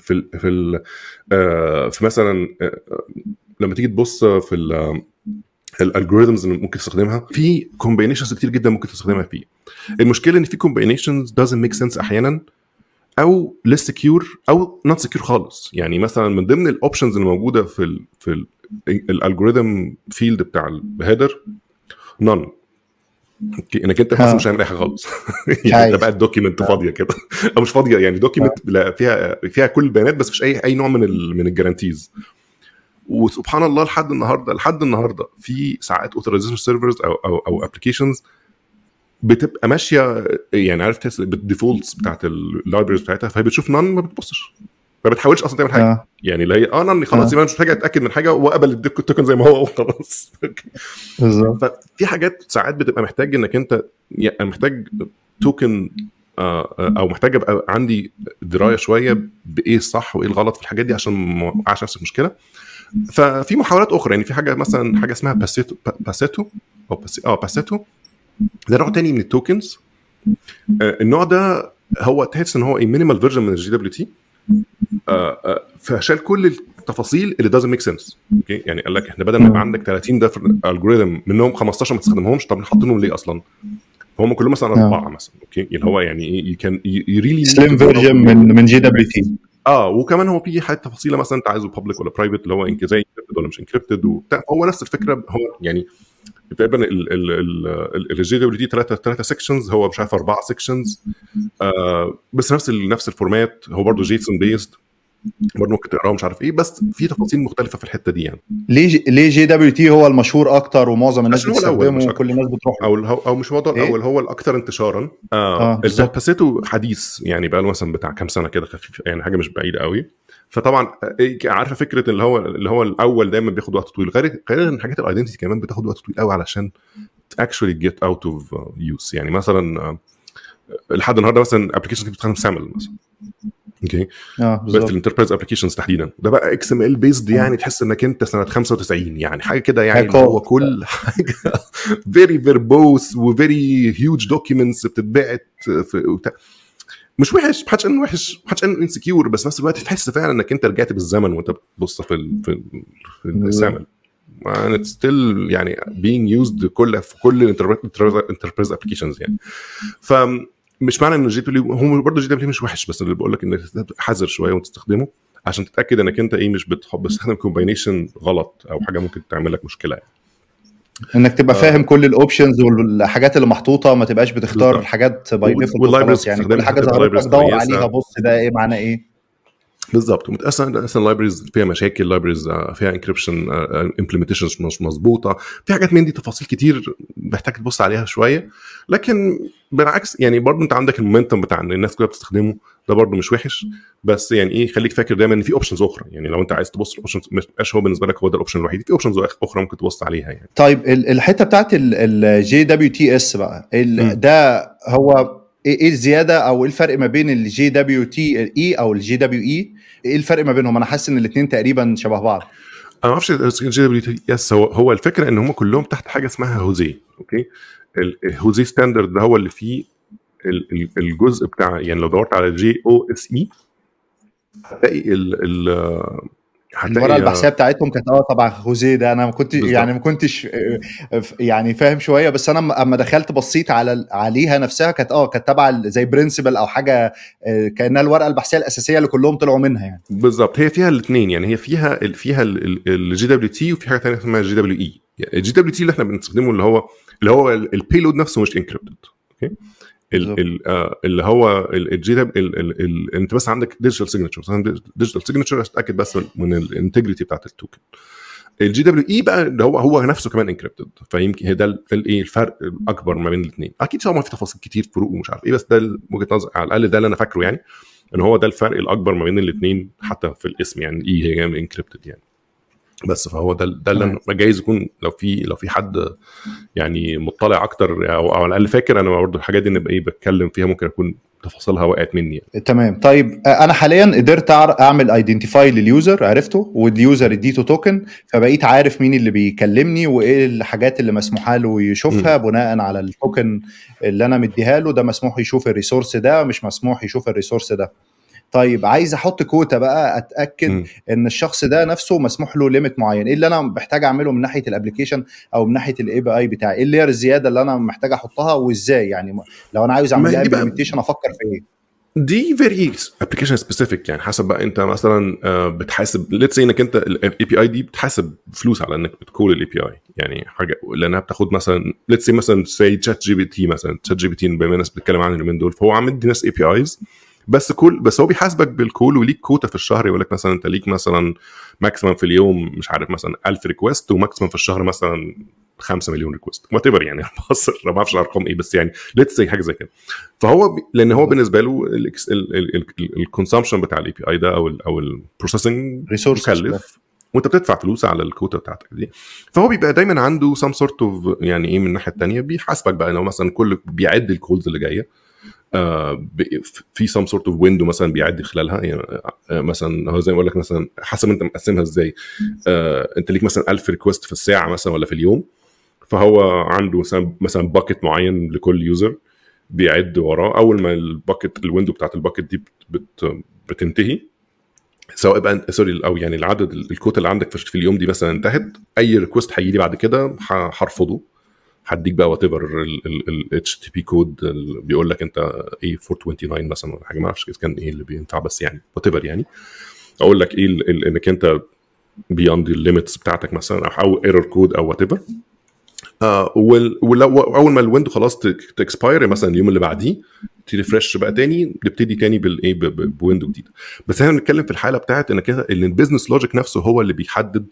في مثلا لما تيجي تبص في الالجوريثمز اللي ممكن تستخدمها، في كومباينيشنز كتير جدا ممكن تستخدمها فيه. المشكله ان في كومباينيشنز doesn't make sense احيانا، او less secure او not secure خالص. يعني مثلا من ضمن الاوبشنز اللي موجوده في الالجوريثم فيلد بتاع الهيدر none، انك انت مثلا مش هعمل اي حاجه خالص. يعني انت بقى الدوكيمنت فاضيه كده، او مش فاضيه، يعني دوكيمنت فيها كل البيانات بس مش اي نوع من الجارانتيز. وسبحان الله لحد النهارده في ساعات اوثرايزيشن سيرفرز او ابلكيشنز بتبقى ماشيه، يعني عارف تحس بالديفولتس بتاعت اللايبريز بتاعتها، فهي بتشوف نان ما بتبصش، ما بتحاولش اصلا تعمل حاجه. يعني اللي هي نان خلاص يبقى مش محتاج اتاكد من حاجه وقبل التوكن زي ما هو وخلاص. ففي حاجات ساعات بتبقى محتاج انك انت يعني محتاج توكن او محتاج ابقى عندي درايه شويه بايه الصح وايه الغلط في الحاجات دي عشان ما اوقعش نفس المشكله. ففي محاولات اخرى، يعني في حاجه مثلا حاجه اسمها باسيتو ده نوع تاني من التوكنز. النوع ده هو تحس ان هو مينيمال فيرجن من الجي دبليو تي، فشال كل التفاصيل اللي doesn't make sense. اوكي، يعني قال لك احنا بدل ما يبقى عندك 30 ده الجوريثم منهم 15 ما تستخدمهمش، طب نحطهم ليه اصلا؟ هم كلهم مثلا 4 مثلا. اوكي، اللي هو يعني كان ريلي سليم فيرجن من جي دبليو تي. وكمان هو في حاجه تفاصيله مثلا انت عايزه بابليك ولا برايفت، اللي هو زي انكريبتد ولا مش انكريبتد وبتاع. هو نفس الفكره، هو يعني تقريبا الجي دبليو تي 3 سيكشنز، هو مش عارف 4 سيكشنز، بس نفس الفورمات. هو برضه جيسون بيست، برضه ممكن تقراه مش عارف ايه، بس في تفاصيل مختلفه في الحته دي. يعني ليه جي دبليو تي هو المشهور اكتر ومعظم الناس بتستخدمه وكل الناس بتروح او مش موضوع الاول، هو الاكثر انتشارا. الباسيتو حديث، يعني بقى له مثلا بتاع كام سنه كده خفيف، يعني حاجه مش بعيده قوي. فطبعا عارفه فكره اللي هو الاول دايما بياخد وقت طويل، غير ان حاجات الايدنتيتي كمان بتاخد وقت طويل قوي علشان actually get out of use. يعني مثلا لحد النهارده مثلا ابلكيشن بتستخدم سامل مثلا، اوكي، بس في الانتربرايز ابلكيشنز تحديدا ده بقى اكس ام ال بيزد، يعني تحس انك انت سنه 95 يعني حاجه كده، يعني هو كل حاجه فيري فيربوس وفيري هيوج دوكيومنتس بتتبعت مش وحش، ما حدش انه وحش، ما حدش انه انسكيور، بس نفس الوقت تحس فعلا انك انت رجعت بالزمن وانت بتبص في السامل and it's still يعني being used في كل الانتربرايز ابلكيشنز. يعني فمش معنى ان الجي دبليو هو برضه الجي دبليو مش وحش، بس اللي بقول لك انك حذر شويه وتستخدمه عشان تتاكد انك انت مش بتستخدم كومباينيشن غلط او حاجه ممكن تعمل لك مشكله. يعني انك تبقى فاهم كل الاوبشنز والحاجات اللي محطوطه، ما تبقاش بتختار الحاجات باي ديفولت خلاص. يعني كل حاجه ظهرت لك دور عليها، بص ده ايه معناه ايه بالظبط. ومتأثر اصلا اللايبريز فيها مشاكل، لايبريز فيها انكريبشن امبلمنتيشن مش مظبوطه، في حاجات من دي تفاصيل كتير محتاج تبص عليها شويه. لكن بالعكس يعني برضه انت عندك المومنتم بتاع ان الناس كلها بتستخدمه، ده برضه مش وحش. بس يعني خليك فاكر دايما ان في اوبشنز اخرى، يعني لو انت عايز تبص الاوبشنز مش هو بالنسبه لك هو ده الاوبشن الوحيد، في اوبشنز اخرى ممكن تبص عليها. يعني طيب الحته بتاعت الجي دبليو تي اس بقى، ده هو ايه الزياده او ايه الفرق ما بين الجي دبليو تي اي او الجي دبليو اي؟ ايه الفرق ما بينهم؟ انا حاسس ان الاثنين تقريبا شبه بعض. انا ما اعرفش الجي دبليو تي اس. هو الفكره ان هم كلهم تحت حاجه اسمها هوزي. اوكي، الهوزي ستاندرد ده هو اللي فيه الجزء بتاع، يعني لو دورت على جي او اس اي هتلاقي الورقه البحثيه بتاعتهم كانت طبعا خوزيه ده. انا ما كنتش يعني فاهم شويه، بس انا اما دخلت بصيت عليها نفسها كانت كانت تبع زي برنسبل او حاجه، كانها الورقه البحثيه الاساسيه اللي كلهم طلعوا منها. يعني بالظبط، هي فيها الاثنين. يعني هي فيها الجي دبليو تي، وفي حاجه ثانيه اسمها الجي دبليو اي. الجي دبليو تي اللي احنا بنستخدمه اللي هو البيلود نفسه مش انكريبتد. اوكي، اللي هو انت بس عندك ديجيتال سيجنتشر عشان تتاكد بس من الانتجريتي بتاعت التوكن. الجي دبليو اي بقى اللي هو نفسه كمان انكريبتد، فيمكن ده الفرق الاكبر ما بين الاثنين. اكيد طبعا في تفاصيل كتير فروق ومش عارف ايه، بس ده وجهه نظر على الاقل ده اللي انا فاكره، يعني ان هو ده الفرق الاكبر ما بين الاثنين حتى في الاسم. يعني اي هي انكريبتد يعني. بس فهو ده اللي أنا جايز يكون لو في حد يعني مطلع اكتر او على الاقل فاكر. انا برضه الحاجات دي نبقى بتكلم فيها ممكن اكون تفاصيلها وقعت مني يعني. تمام. طيب انا حاليا قدرت اعمل ايدنتيفاي لليوزر، عرفته، واليوزر اديته توكن، فبقيت عارف مين اللي بيكلمني وايه الحاجات اللي مسموحه له يشوفها بناء على التوكن اللي انا مديها له. ده مسموح يشوف الريسورس ده، مش مسموح يشوف الريسورس ده. طيب عايز احط كوتا بقى، اتاكد ان الشخص ده نفسه مسموح له ليميت معين. ايه اللي انا محتاج اعمله من ناحيه الابلكيشن او من ناحيه الاي بي اي بتاعي؟ ايه اللي هي الزياده اللي انا محتاج احطها وازاي؟ يعني لو انا عايز اعمل لها امبلمنتيشن افكر في ايه؟ دي فيري ابلكيشن سبيسيفيك يعني، حسب بقى انت مثلا بتحاسب ليتس انك انت الاي بي اي دي بتحاسب فلوس على انك بتكول الاي بي اي يعني حاجه، لانها بتاخد مثلا ليتس مثلا سي تشات جي بي تي مثلا. تشات جي بي تي بما الناس بتتكلم عنه اليومين دول، فهو عامل دي ناس اي بي ايز بس هو بيحاسبك بالكول وليك كوتا في الشهر. يقول لك مثلا انت ليك مثلا ماكسيمم في اليوم مش عارف مثلا 1000 ريكوست، وماكسيمم في الشهر مثلا 5 مليون ريكوست وات ايفر يعني. بص ما اعرفش الارقام ايه، بس يعني ليتس سي حاجه زي كده. فهو لان هو بالنسبه له الكونسامشن بتاع الاي بي اي ده او البروسيسنج مكلف، وانت بتدفع فلوس على الكوتا بتاعتك دي. فهو بيبقى دايما عنده سام سورت اوف يعني ايه من الناحيه الثانيه بيحاسبك بقى لو مثلا كل بيعد الكولز اللي جايه في سام سورت اوف ويندو مثلا بيعدي خلالها يعني. مثلا هو زي ما اقول لك مثلا حسب انت مقسمها ازاي. انت ليك مثلا 1000 ريكوست في الساعه مثلا ولا في اليوم، فهو عنده مثلا باكيت معين لكل يوزر بيعد وراه. اول ما الباكيت الويندو بتاعت الباكيت دي بتنتهي، سواء بقى سوري او يعني العدد الكوتا اللي عندك في اليوم دي مثلا انتهت، اي ريكوست هيجي لي بعد كده هرفضه. هديك بقى وات ايفر الاتش تي بي كود بيقول لك انت ايه 429 مثلا ولا حاجه، ما اعرفش كان ايه اللي بينفع، بس يعني وات ايفر يعني اقول لك ايه انك انت بياند الليميتس بتاعتك مثلا او ايرور كود او وات ايفر. ولو اول ما الويندو خلاص تكسباير مثلا اليوم اللي بعديه تريفرش بقى تاني، نبتدي تاني بالايه بويندو جديد. بس احنا بنتكلم في الحاله بتاعت انك ان البيزنس لوجيك نفسه هو اللي بيحدد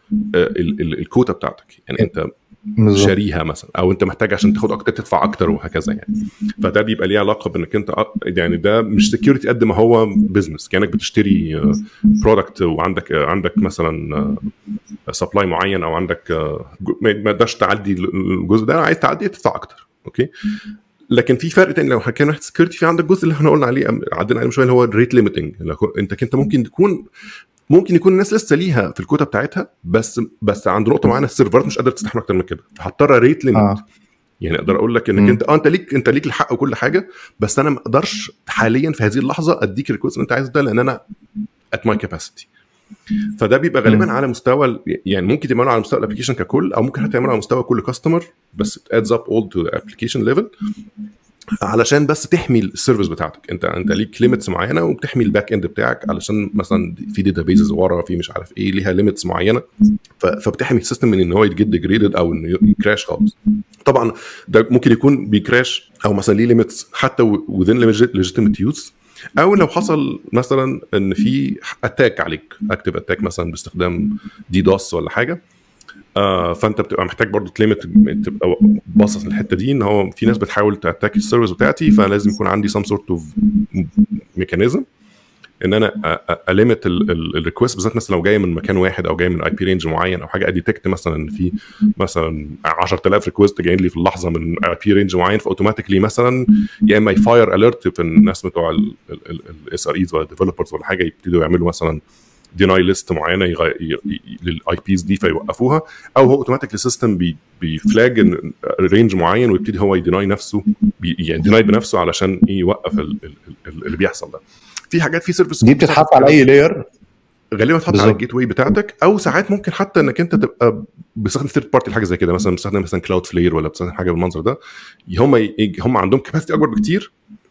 الكوتا بتاعتك يعني. انت شاريها مثلا او انت محتاج عشان تاخد اكتر تدفع اكتر وهكذا يعني. فده بيبقى ليه علاقه بانك انت يعني ده مش سكيورتي قد ما هو بزنس، كانك بتشتري برودكت وعندك مثلا سبلاي معين او عندك ما تقدرش تعدي الجزء ده، عايز تعدي تدفع اكتر. اوكي، لكن في فرق تاني لو حكينا ناحيه سكيورتي، في عندك جزء اللي احنا قلنا عليه عدينا عليه شويه اللي هو الريت ليميتنج. انت ممكن يكون الناس لسه ليها في الكوتا بتاعتها، بس عند نقطه معينه السيرفرات مش قادره تستحمل اكتر من كده، فهضطر ريت ليميت. يعني اقدر اقول لك انك انت ليك الحق وكل حاجه، بس انا ما اقدرش حاليا في هذه اللحظه اديك الريكوست اللي انت عايزه ده، لان انا ات ماي كاباسيتي. فده بيبقى غالبا على مستوى يعني ممكن تعمله على مستوى الابلكيشن ككل، او ممكن تعمله على مستوى كل كاستمر، بس it adds up all to the application level علشان بس تحمي السيرفيس بتاعتك. انت ليك ليميتس معينه وبتحمي الباك اند بتاعك، علشان مثلا في داتابيزز ورا في مش عارف ايه ليها ليميتس معينه، فبتحمي السيستم من ان هو يتجد ديجريدد او انه يكراش خالص. طبعا ده ممكن يكون بيكراش او مثلا ليه ليميتس حتى within legitimate use، او لو حصل مثلا ان في اتاك عليك اكتيف اتاك مثلا باستخدام دي دوس ولا حاجه، فانت بتبقى محتاج برضو تبقى باصص للحته دي، ان هو في ناس بتحاول تاتاك السيرفيس بتاعتي، فلازم يكون عندي some sort of mechanism ان انا اليميت الريكوست بالذات. مثلا لو جايه من مكان واحد او جايه من اي بي رينج معين او حاجه، اديتكت مثلا ان في مثلا 10000 ريكوست جايين لي في اللحظه من اي بي رينج معين، فاوتوماتيكلي مثا يا اما يفاير اليرت في الناس بتوع الاس ار ايز ولا ديفلوبرز ولا حاجه، يبتدوا يعملوا مثلا ديناي ليست معينه للاي بيز دي فيوقفوها، او هو اوتوماتيك السيستم بيفلاج رينج معين ويبتدي هو يديناي نفسه يعني ديناي بنفسه علشان يوقف اللي بيحصل ده. في حاجات في سيرفيس دي بتتحط على اي لاير، غالبا بتحط على الجيت واي بتاعتك، او ساعات ممكن حتى انك انت تبقى بتستخدم ثيرد بارتي حاجه زي كده، مثلا بتستخدم مثلا كلاود فلير ولا بتستخدم حاجه بالمنظر ده. هم عندهم كاباسيتي اكبر بكتير،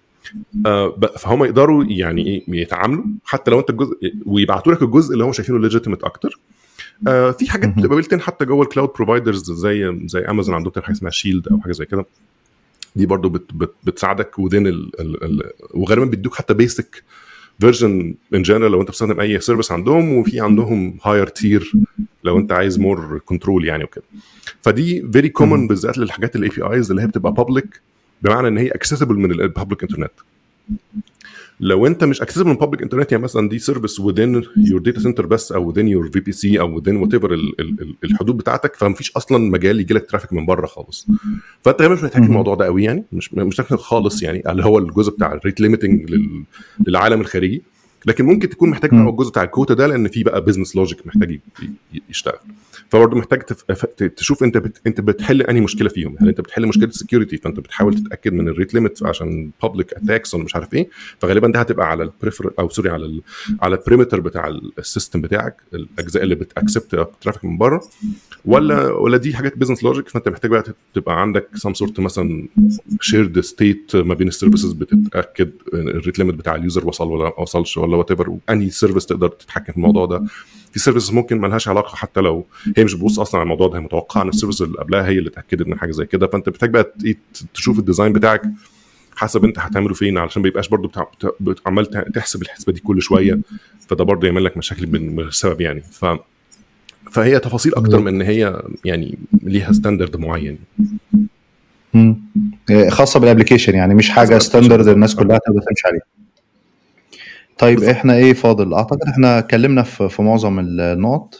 فهم يقدروا يعني ايه يتعاملوا حتى لو انت الجزء ويبعتوا لك الجزء اللي هم شايفينه ليجيتيمت اكتر. في حاجات بتبقى بيلتين حتى جوه الكلاود بروفايدرز زي امازون عندهم حاجه اسمها شيلد او حاجه زي كده، دي برضو بتساعدك وذين وغالبا بيدوك حتى بيسك فيرجن ان جنرال لو انت بتستخدم اي سيرفيس عندهم، وفي عندهم هاير تير لو انت عايز مور كنترول يعني وكده. فدي فيري كومن بالذات للحاجات الاي بي ايز اللي هي بتبقى بابليك، بمعنى ان هي اكسسبل من البابليك انترنت. لو انت مش اكسسبل من بابليك انترنت، يعني مثلا دي سيرفيس within your data center بس، او within your VPC، او within whatever الحدود بتاعتك، فمفيش اصلا مجال يجي لك ترافيك من بره خالص. فانت مش محتاج الموضوع ده قوي، يعني مش محتاج خالص، يعني اللي هو الجزء بتاع الريت ليميتنج للعالم الخارجي. لكن ممكن تكون محتاج بقى الجزء بتاع الكوتا ده، لان في بقى بزنس لوجيك محتاج يشتغل. فبرضه محتاج تشوف انت بتحل انهي مشكله فيهم. هل انت بتحل مشكله السكيورتي، فانت بتحاول تتاكد من الريت ليميت عشان بابليك اتاكس ولا مش عارف ايه، فغالبا ده هتبقى على البريفر او سوري على البريمتر بتاع السيستم بتاعك، الاجزاء اللي بتاكسبت ترافيك من بره، ولا دي حاجات بزنس لوجيك. فانت محتاج بقى تبقى عندك سام سورت مثلا شيرد ستيت ما بين السيرفيسز، بتتاكد الريت ليميت بتاع اليوزر وصل ولا ما وصلش، ولا وات ايفر، انهي سيرفيس تقدر تتحكم في الموضوع ده. في سيرفيسز ممكن ما لهاش علاقه، حتى لو هي مش بتبص اصلا على الموضوع ده، هي متوقعه ان السيرفيس اللي قبلها هي اللي اتاكدت من حاجه زي كده. فانت محتاج بقى تشوف الديزاين بتاعك حسب انت هتعمله فين، علشان ما يبقاش برضو عمال تحسب الحسبه دي كل شويه، فده برضو يعمل لك مشاكل بالسبب يعني. فهي تفاصيل اكتر من ان هي يعني ليها ستاندرد معين خاصه بالابلكيشن، يعني مش حاجه ستاندرد الناس كلها تقدر تمشي عليها. طيب بالضبط. احنا ايه فاضل؟ اعتقد احنا اتكلمنا في معظم النقط.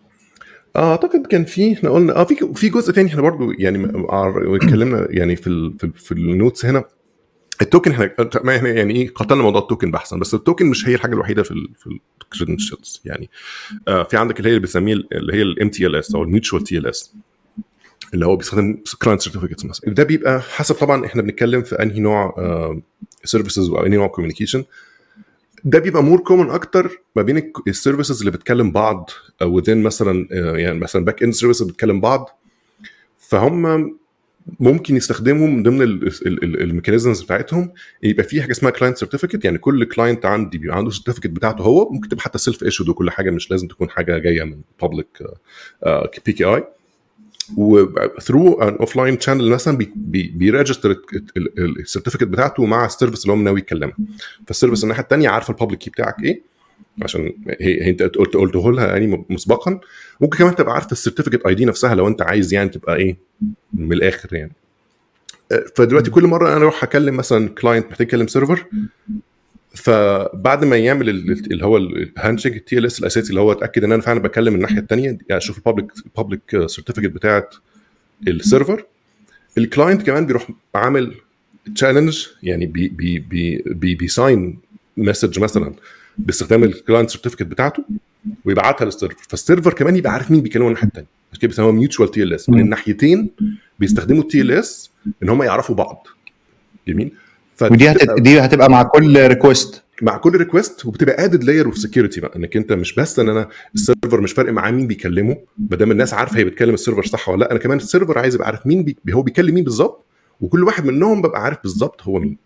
اعتقد كان احنا قلنا في جزء تاني احنا برضو يعني اتكلمنا يعني في النوتس هنا. التوكن احنا يعني ايه قتلنا موضوع التوكن بحثا، بس التوكن مش هي الحاجه الوحيده في الكريدنشالز يعني. في عندك اللي هي بنسميه اللي هي الام تي ال اس او الميوتشوال تي ال اس، اللي هو بيستخدم كلاينت سيرتيفيكتس مثلا. ده بيبقى حسب طبعا احنا بنتكلم في انهي نوع سيرفيسز او انهي نوع كوميونيكيشن. ده بيبقى مور كومن اكتر ما بين السيرفيسز اللي بتكلم بعض within مثلا يعني مثلا باك اند سيرفيسز بتكلم بعض، فهم ممكن يستخدموا من ضمن الميكانيزمز بتاعتهم يبقى في حاجه اسمها كلاينت سيرتيفيكت. يعني كل كلاينت عندي بيبقى عنده سيرتيفيكت بتاعته هو، ممكن تبقى حتى سيلف ايشود وكل حاجه، مش لازم تكون حاجه جايه من بابليك بي كي اي. وثرو ان اوف لاين شانل مثلا بيريجستر السيرتيفيكت بتاعته مع السيرفيس اللي هو ناوي يتكلمها. فالسيرفيس الناحيه الثانيه عارفه البابليك كي بتاعك ايه، عشان هي انت قلته لها يعني مسبقا. ممكن كمان تبقى عارفه السيرتيفيكت اي دي نفسها لو انت عايز يعني تبقى ايه من الاخر يعني. فدلوقتي كل مره انا اروح اكلم مثلا كلاينت محتاج يكلم سيرفر، فبعد ما يعمل اللي هو الهاندشيك التي ال اس الاساسي اللي هو اتاكد ان انا فعلا بكلم الناحيه الثانيه، يعني اشوف البابليك سيرتيفيكت بتاعه السيرفر. الكلاينت كمان بيروح عامل تشالنج، يعني بيساين مسج مثلا باستخدام الكلاينت سيرتيفيكت بتاعته ويبعتها للسيرفر، فالسيرفر كمان يبقى عارف مين بيكلمه الناحيه الثانيه. عشان كده بيسموها ميوتشوال تي ال اس، من الناحيتين بيستخدموا التي ال اس ان هم يعرفوا بعض. جميل. ودي هتبقى مع كل ريكوست، وبتبقى ادد لاير اوف سكيورتي بقى، انك انت مش بس ان انا السيرفر مش فارق معاه مين بيكلمه، ما دام الناس عارفه هي بتكلم السيرفر صح ولا لا، انا كمان السيرفر عايز يبقى عارف مين هو بيكلم مين بالظبط، وكل واحد منهم ببقى عارف بالظبط هو مين.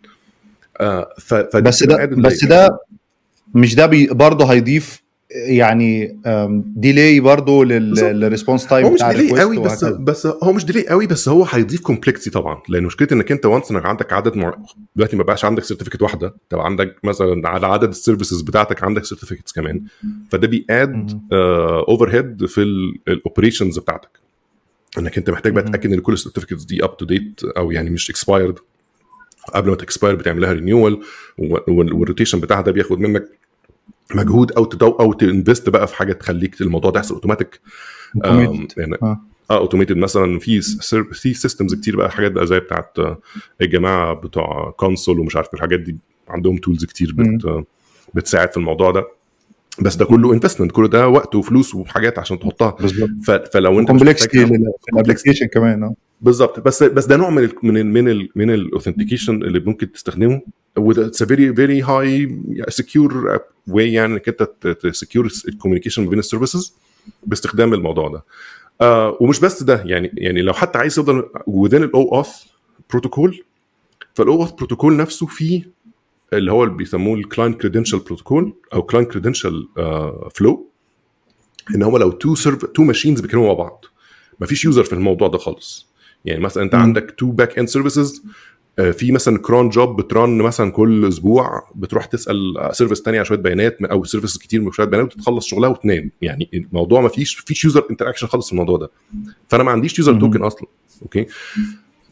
بس ده مش ده برضه هيضيف يعني ديلي برضو للريسبونس تايم بتاع الريكوست. بس هو مش ديلي قوي، بس هو هيضيف كومبلكسيتي طبعا، لان مشكله انك انت وانس انك عندك عدد دلوقتي ما بقاش عندك سيرتيفيكت واحده، تبقى عندك مثلا على عدد السيرفيسز بتاعتك عندك سيرتيفيكتس كمان، فده بياد اوفر هيد في الاوبريشنز بتاعتك، انك انت محتاج بقى تتاكد ان كل السيرتيفيكتس دي اب تو ديت او يعني مش اكسبايرد. قبل ما تكسباير بتعمل لها رينيوال، والروتيشن بتاعها ده بياخد منك مجهود او تنفست بقى في حاجه تخليك الموضوع ده يحصل اوتوماتيك. اوتوميتد مثلا في سيستمز كتير بقى، حاجات بقى زي بتاعت الجماعه بتوع كونسول ومش عارف الحاجات دي، عندهم تولز كتير بتساعد في الموضوع ده. بس ده كله انفستمنت، كله ده وقت وفلوس وحاجات عشان تحطها. فلو انت كومبلكسيتي الابلكيشن كمان بالظبط. بس ده نوع من الاوثنتيكيشن اللي ممكن تستخدمه with a very very high secure way، يعني انك انت تسكيور الكوميونيكيشن بين السيرفيسز باستخدام الموضوع ده. ومش بس ده، يعني لو حتى عايز يفضل within الاو auth بروتوكول، فالاو auth بروتوكول نفسه فيه اللي هو اللي بيسموه الكلاينت كريدنشال بروتوكول او كلاينت كريدنشال فلو، ان هو لو تو ماشينز بيكلموا مع بعض، مفيش يوزر في الموضوع ده خالص. يعني مثلا انت عندك تو باك اند سيرفيسز، في مثلا كرون جوب بترن مثلا كل اسبوع، بتروح تسال سيرفيس ثانيه على شويه بيانات او سيرفيسز كتير من شويه بيانات وتخلص شغلها وتنام. يعني الموضوع ما فيش يوزر انتراكشن خالص في الموضوع ده، فانا ما عنديش يوزر توكن اصلا. اوكي،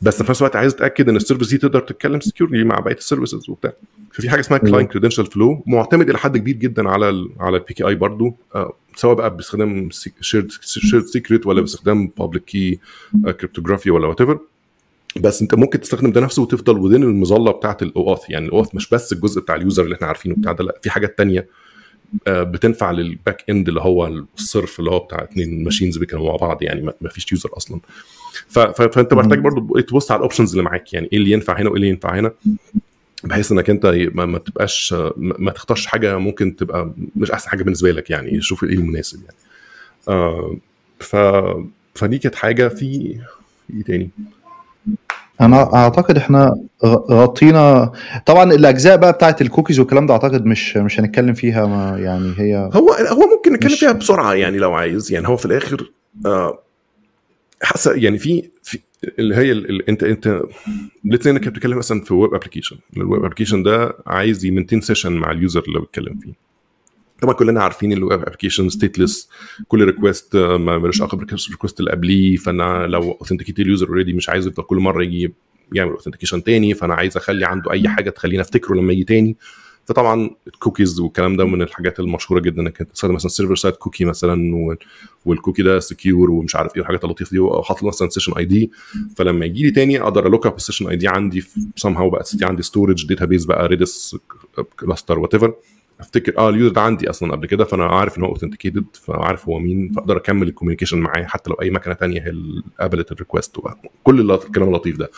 بس في نفس الوقت عايز اتاكد ان السيرفيس دي تقدر تتكلم سكيورلي مع بقيه السيرفيسز وبتاع. ففي حاجه اسمها كلاينت كريدنشال فلو معتمد الى حد كبير جدا على البي كي اي برضو، سواء بقى باستخدام شيرد سيكريت ولا باستخدام بابليك كي كريبتوغرافي ولا وات ايفر. بس انت ممكن تستخدم ده نفسه وتفضل ودين المظله بتاعه الاوث. يعني الاوث مش بس الجزء بتاع اليوزر اللي احنا عارفينه بتاع ده، لا في حاجات تانية بتنفع للباك اند اللي هو الصرف اللي هو بتاع اتنين ماشينز بيكونوا مع بعض، يعني ما فيش يوزر اصلا. فانت محتاج برضو تبص على الاوبشنز اللي معاك، يعني ايه اللي ينفع هنا وايه اللي ينفع هنا، بحيث انك انت ما تبقاش ما تختارش حاجه ممكن تبقى مش احسن حاجه بالنسبه لك. يعني شوف ايه المناسب يعني. فدي كانت حاجه في ايه تاني. انا اعتقد احنا غطينا طبعا الاجزاء بقى بتاعت الكوكيز والكلام ده، اعتقد مش هنتكلم فيها، ما يعني هي هو ممكن نتكلم فيها بسرعه يعني لو عايز. يعني هو في الاخر حاسه يعني في اللي هي انت الاثنين انك بتتكلم مثلا في ويب ابلكيشن، الويب ابلكيشن ده عايز يمنتين سيشن مع اليوزر اللي بيتكلم فيه. طبعا كلنا عارفين الويب ابلكيشن ستيتلس، كل ريكويست ما ملوش علاقه بالريكويست اللي قبليه. فانا لو اوثنتيكيت اليوزر اوريدي مش عايز يفضل كل مره يجي يعمل اوثنتيكيشن تاني، فانا عايز اخلي عنده اي حاجه تخلينا افتكره لما يجي تاني. فطبعا الكوكيز والكلام ده من الحاجات المشهوره جدا، انك تستخدم مثلا سيرفر سايد كوكي مثلا، والكوكي ده سكيور ومش عارف ايه الحاجات اللطيفه دي، وحاطط مثلا سيشن اي دي، فلما يجي لي تاني اقدر الوك اب السيشن اي دي عندي سام هاو بقى عندي ستورج داتابيس بقى ريدس كلاستر وات ايفر، افتكر اليوزر ده عندي اصلا قبل كده، فانا عارف ان هو اوثنتيكيتد، فعارف هو مين، فاقدر اكمل الكوميونيكيشن معاه حتى لو اي مكنه تانية هي قابلت الريكوست وكل الكلام اللطيف ده.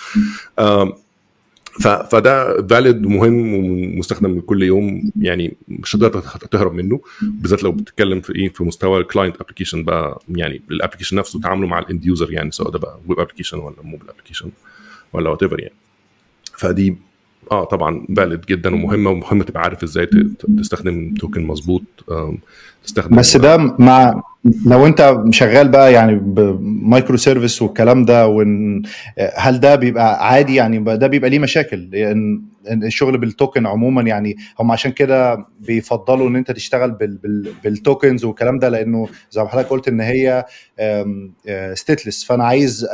فده فاليد ومهم ومستخدم كل يوم، يعني مش هتقدر تهرب منه، بالذات لو بتتكلم في ايه في مستوى الكلاينت ابلكيشن بقى، يعني الابلكيشن نفسه تعامله مع الاند يوزر، يعني سواء ده بقى ويب ابلكيشن ولا موبايل ابلكيشن ولا وات ايفر يعني. فدي طبعا فاليد جدا ومهمه، ومهم تبقى عارف ازاي تستخدم توكن مظبوط، تستخدم. بس ده مع لو انت شغال بقى يعني بمايكرو سيرفيس والكلام ده، هل ده بيبقى عادي؟ يعني ده بيبقى ليه مشاكل لان الشغل بالتوكن عموما، يعني هم عشان كده بيفضلوا ان انت تشتغل بالتوكنز والكلام ده، لانه زي ما حضرتك قلت ان هي ستيتلس. فانا عايز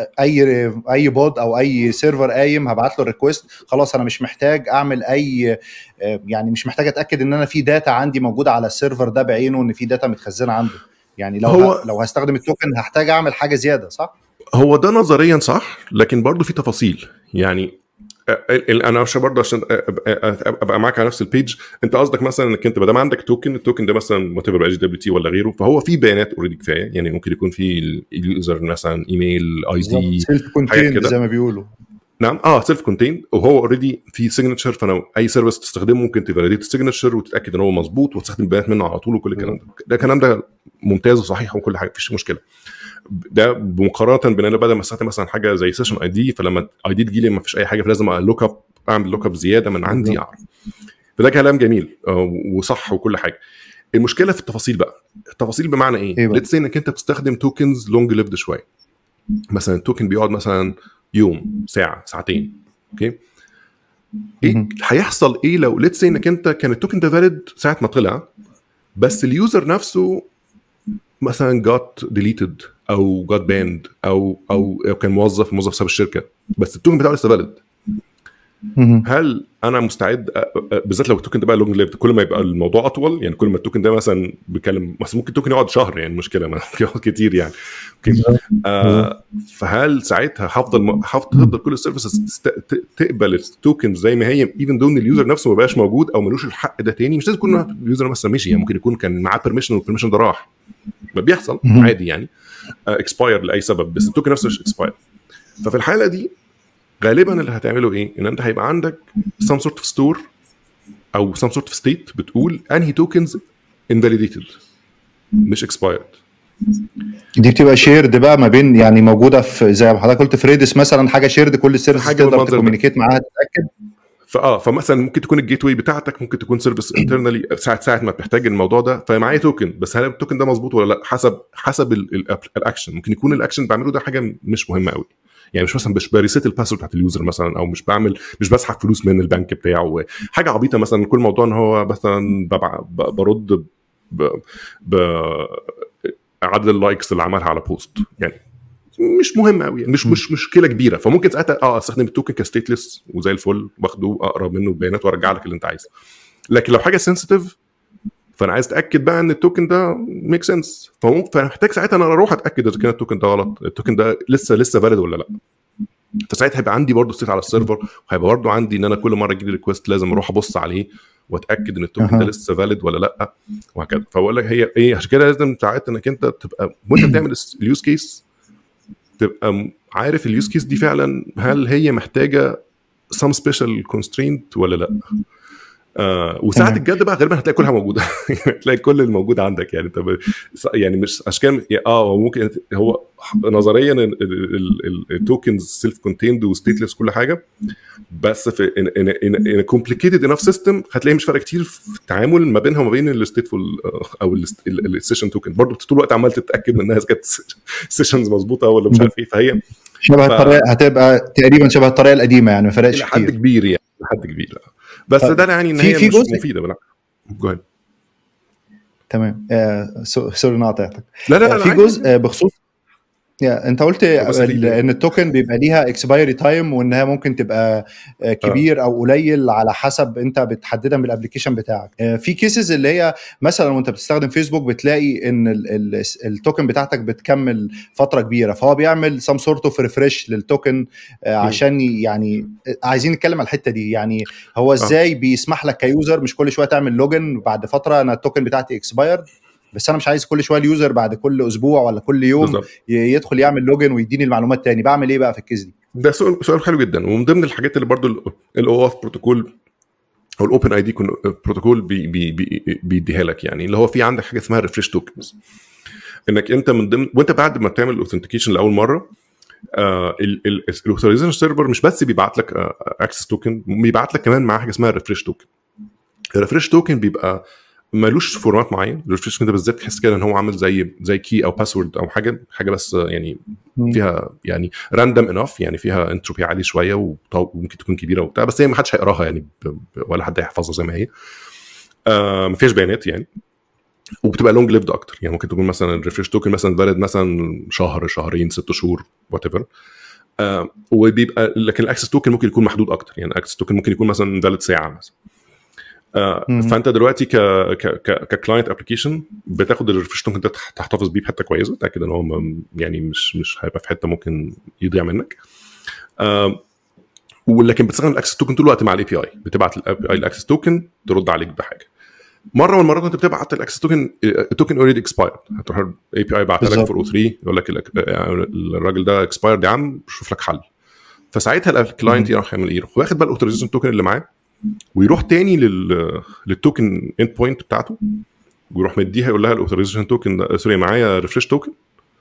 اي بود او اي سيرفر قايم هبعت له الريكوست، خلاص انا مش محتاج اعمل اي، يعني مش محتاج اتاكد ان انا في داتا عندي موجوده على السيرفر ده بعينه، ان في داتا متخزنه عنده. يعني لو هستخدم التوكن هحتاج اعمل حاجه زياده، صح؟ هو ده نظريا صح، لكن برضو في تفاصيل. يعني انا مش برضه عشان ابقى معاك على نفس البيج، انت قصدك مثلا انك انت بدل ما عندك التوكن ده مثلا وات ايفر دبليو تي ولا غيره، فهو في بيانات اوريدي كفايه. يعني ممكن يكون في اليوزر مثلا ايميل اي دي سيلف كونتيند زي ما بيقولوا. نعم سيلف كونتين، وهو اوريدي في سيجنتشر، فانا اي سيرفيس تستخدمه ممكن تفاليديت السيجنتشر وتتاكد ان هو مظبوط وتستخدم بيانات منه على طول وكل الكلام ده الكلام ده ممتاز وصحيح وكل حاجه، مفيش مشكله. ده بمقارنه بين انا بدل ما استخدم مثلا حاجه زي سيشن اي دي، فلما اي دي تجي لي ما فيش اي حاجه، فلازم لوك اب، اعمل لوك اب زياده من عندي اعرف. فده كلام جميل وصح وكل حاجه. المشكله في التفاصيل بقى. التفاصيل بمعنى ايه؟ ليتس سي انك انت بتستخدم توكنز لونج ليفد شويه، مثلا التوكن بيقعد مثلا يوم، ساعه، ساعتين، اوكي. ايه هيحصل ايه لو ليتس سي انك انت كان التوكن ده فاليد ساعه ما طلع، بس اليوزر نفسه مثلا جات ديليتد او جات باند او كان موظف ساب الشركه، بس التوكن بتاعه لسه فاليد. هل انا مستعد، بالذات لو التوكن ده بقى لونج ليفد، كل ما يبقى الموضوع اطول، يعني كل ما التوكن ده مثلا بيتكلم مثلا ممكن التوكن يقعد شهر، يعني المشكله ممكن يقعد كتير يعني فهل ساعتها هفضل كل السيرفيسز تقبل التوكن زي ما هي ايفن دون اليوزر نفسه ما بقاش موجود او ملوش الحق ده تاني؟ مش لازم يكون اليوزر مثلا مشي، يعني ممكن يكون كان معاه بيرميشن والبيرميشن ده راح، ما بيحصل عادي يعني، اكسباير لاي سبب، بس التوكن نفسه مش اكسباير. ففي الحاله دي غالبا اللي هتعمله ايه؟ ان انت هيبقى عندك some sort of store او some sort of state بتقول انهي tokens invalidated مش expired. دي بتبقى شيرد بقى ما بين، يعني موجوده في زي ما حضرتك قلت في ريدس مثلا، حاجه شيرد كل السيرفيس تقدر تكوميونيكيت معاها تتاكد. فمثلا ممكن تكون الجيت واي بتاعتك ممكن تكون سيرفيس انترنالي ساعه ما بتحتاج الموضوع ده، فمعايا توكن، بس هل التوكن ده مظبوط ولا لا؟ حسب الاكشن. ممكن يكون الاكشن بعمله ده حاجه مش مهمه قوي، يعني مش مثلا مش بريسيت الباسورد بتاعت اليوزر مثلا، او مش بسحب فلوس من البنك بتاعه، حاجه عبيطه مثلا. كل موضوع ان هو مثلا برد عدد اللايكس اللي عملها على بوست، يعني مش مهم قوي يعني، مش مشكله كبيره. فممكن ساعتها استخدم التوكن كستيتلس وزي الفل، واخده اقرب منه البيانات وارجع لك اللي انت عايزه. لكن لو حاجه سنسيتيف فانا عايز اتاكد بقى ان التوكن ده ميك سنس، فانا محتاج ساعتها انا اروح اتاكد اذا كان التوكن ده غلط، التوكن ده لسه فاليد ولا لا. فساعتها هيبقى عندي برضو ستيت على السيرفر، وهيبقى برضو عندي ان انا كل مره اجي لي ريكويست لازم اروح ابص عليه واتاكد ان التوكن ده لسه فاليد ولا لا، وهكذا. فبقول لك هي ايه، عشان كده لازم ساعات انك انت تبقى وانت بتعمل اليوز كيس تبقى عارف اليوز كيس دي فعلا هل هي محتاجه some special constraint ولا لا. وساعات الجد بقى غالبا هتلاقي كلها موجوده هتلاقي كل الموجود عندك يعني. طب يعني مش اشكال ممكن هو نظريا التوكنز سيلف كونتيند وستيتلس كل حاجه، بس في ان كومبليكيتد انف سيستم هتلاقي مش فرق كتير في التعامل ما بينها وما بين الستيتفول او السيشن توكن. برضه طول الوقت عمال تتاكد من انها كانت سيشنز مظبوطه ولا مش عارف ايه. فهي شبه الطريقه هتبقى تقريبا شبه الطريقه القديمه يعني، ما فرقش كتير لحد كبير يعني، لحد كبير. بس ده يعني ان هي مش مفيده. لا جوه تمام. سوري نقطعتك. لا في جزء بخصوص انت قلت ان التوكن بيبقى ليها اكسبايري تايم، وانها ممكن تبقى كبير او قليل على حسب انت بتحددها من الابلكيشن بتاعك. في كيسز اللي هي مثلا وانت بتستخدم فيسبوك بتلاقي ان التوكن بتاعتك بتكمل فتره كبيره، فهو بيعمل سام سورت اوف ريفريش للتوكن عشان يعني عايزين نتكلم على الحته دي. يعني هو ازاي بيسمح لك كيوزر مش كل شويه تعمل لوجن بعد فتره انا التوكن بتاعتي اكسبايرد، بس انا مش عايز كل شويه اليوزر بعد كل اسبوع ولا كل يوم بالزبط يدخل يعمل لوجن ويديني المعلومات تاني. بعمل ايه بقى في الكيس دي؟ ده سؤال حلو جدا. ومن ضمن الحاجات اللي برضو الاو اف بروتوكول او الاوبن اي دي بروتوكول بيديها لك، يعني اللي هو في عندك حاجه اسمها ريفريش توكنز، انك انت من ضمن وانت بعد ما تعمل الاوثنتيكيشن لاول مره الاوثرايزيشن سيرفر مش بس بيبعت لك اكسس توكن، بيبعت لك كمان معاه حاجه اسمها ريفريش توكن. الريفريش توكن بيبقى مالوش فورمات معين. الريفريش توكن ده بالذات تحس كده ان هو عامل زي كي او باسورد او حاجه بس يعني فيها يعني راندوم انف، يعني فيها انتروبي عالي شويه وممكن تكون كبيره وبتاع، بس هي ما حدش هيقراها يعني ولا حد هيحفظها زي ما هي. ما فيش بيانات يعني، وبتبقى لونج ليفد اكتر. يعني ممكن تكون مثلا الريفريش توكن مثلا فاليد مثلا شهر شهرين 6 شهور وات ايفر. وبيبقى لكن الاكسس توكن ممكن يكون محدود اكتر. يعني الاكسس توكن ممكن يكون مثلا فاليد ساعه مثلا. فانت دلوقتي ككلاينت ابلكيشن بتاخد الريفريش توكن ده تحتفظ بيه بحته كويسه، تاكد ان هو يعني مش هيبقى في حته ممكن يضيع منك. ولكن بتستخدم الاكسس توكن طول الوقت مع الاي بي اي، بتبعت الاي الاكسس توكن ترد عليك بحاجه. مره من المرات انت بتبعت الاكسس توكن، التوكن اوريدي اكسبايرد، هتروح الاي بي اي بعتها لك 403 يقول لك الراجل ده اكسبايرد يا عم شوف لك حل. فساعتها الكلاينت يروح يعمل ايه، واخد بقى الاوثرايزيشن توكن اللي معاه ويروح تاني للتوكن اند بوينت بتاعته ويروح مديها يقول لها الاوثرايزيشن توكن سوري معايا ريفريش توكن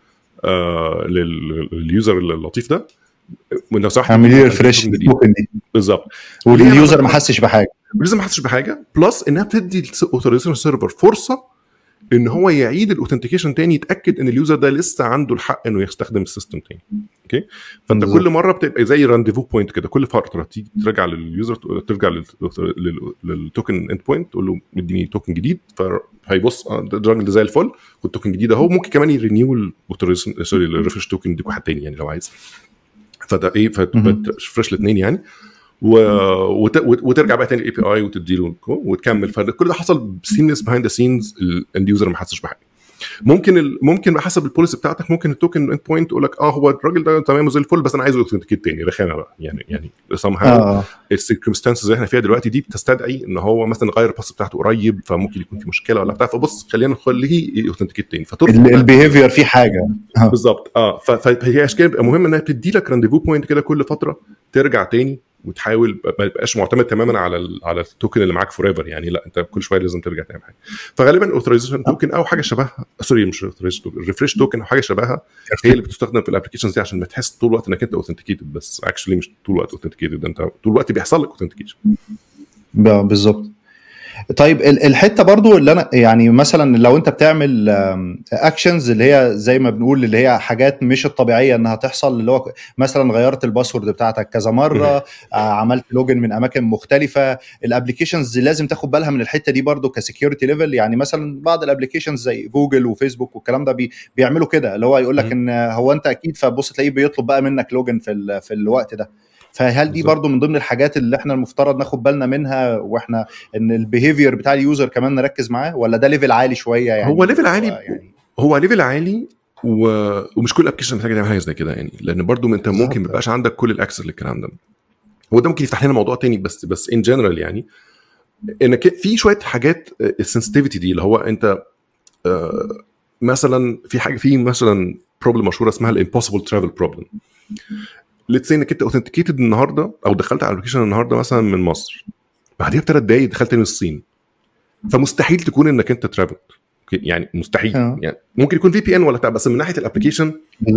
لليوزر اللطيف ده، وانت صح اعمل لي ريفريش توكن دي بالظبط. واليوزر ما حسش بحاجه بلس انها بتدي الاوثرايزيشن سيرفر فرصه ان هو يعيد الاوثنتيكيشن تاني، يتاكد ان اليوزر ده لسه عنده الحق انه يستخدم السيستم تاني. اوكي، فانت كل مره بتبقى زي رانديفو بوينت كده، كل فتره تيجي ترجع لليوزر، ترجع للتوكن اند بوينت تقول له اديني توكن جديد، فهيبص الراجل ده زي الفل والتوكن الجديد اهو. ممكن كمان يرينيو الاوثرايزيشن سوري الريفريش توكن دي واحد تاني يعني لو عايز. فده ايه فتفرش الاثنين يعني وترجع بقى تاني الاي بي اي وتديله وتكمل. فكل ده حصل سيمليس بيهايند ذا سينز، الاند يوزر ما حسش بحاجه. ممكن حسب البوليسي بتاعتك ممكن التوكن اند بوينت يقول لك هو الراجل ده تمام زي الفل بس انا عايزه اوثنتيكيت تاني رخامه بقى يعني somehow السيركمستانسز اللي احنا فيها دلوقتي دي بتستدعي ان هو مثلا غير الباس بتاعته قريب، فممكن يكون في مشكله ولا بتاع، فبص خلينا نخليه اوثنتيكيت تاني. البيهيفير في حاجه بالظبط. فهي اشكال بيبقى مهم انها تدي لك رانديفو بوينت كده كل فتره ترجع تاني وتحاول ما يبقاش معتمد تماما على التوكن اللي معاك فور ايفر يعني. لا انت كل شويه لازم ترجع تعمل حاجه. فغالبا الاوثرايزيشن توكن او حاجه شبهها سوري مش اوثرايزيشن توكن، الريفريش توكن او حاجه شبهها هي اللي بتستخدم في الابلكيشنز دي عشان ما تحس طول الوقت انك انت اوثنتيكيتد، بس اكشلي مش طول الوقت اوثنتيكيتد، انت طول الوقت بيحصل لك اوثنتيكيشن. بالظبط. طيب الحته برضو اللي انا يعني مثلا لو انت بتعمل اكشنز اللي هي زي ما بنقول اللي هي حاجات مش الطبيعيه انها تحصل، اللي هو مثلا غيرت الباسورد بتاعتك كذا مره، عملت لوجن من اماكن مختلفه، الابلكيشنز لازم تاخد بالها من الحته دي برضو كسكيورتي ليفل. يعني مثلا بعض الابلكيشنز زي جوجل وفيسبوك والكلام ده بيعملوا كده، اللي هو يقول لك ان هو انت اكيد، فبص تلاقيه بيطلب بقى منك لوجن في الوقت ده. فهل دي برضو من ضمن الحاجات اللي احنا المفترض ناخد بالنا منها، واحنا ان البيهيفير بتاع اليوزر كمان نركز معاه، ولا ده ليفل عالي شويه يعني؟ هو ليفل عالي، هو ليفل عالي ومش كل ابلكيشن محتاج تعمل حاجه زي كده يعني، لان برضو انت ممكن ما يبقاش عندك كل الاكسس للكلام ده. هو ده ممكن يفتح لنا موضوع تاني، بس ان جنرال يعني انك في شويه حاجات السنسيتيفيتي دي اللي هو انت مثلا في حاجه، في مثلا بروبلم مشهوره اسمها الامبوسيبل ترافل بروبلم. ليتس سي انك انت اوثنتيكيتد النهارده او دخلت على الابلكيشن النهارده مثلا من مصر، بعديها ب3 دقايق دخلت من الصين، فمستحيل تكون انك انت ترافل يعني، مستحيل يعني. ممكن يكون في بي ان ولا بس من ناحيه الابلكيشن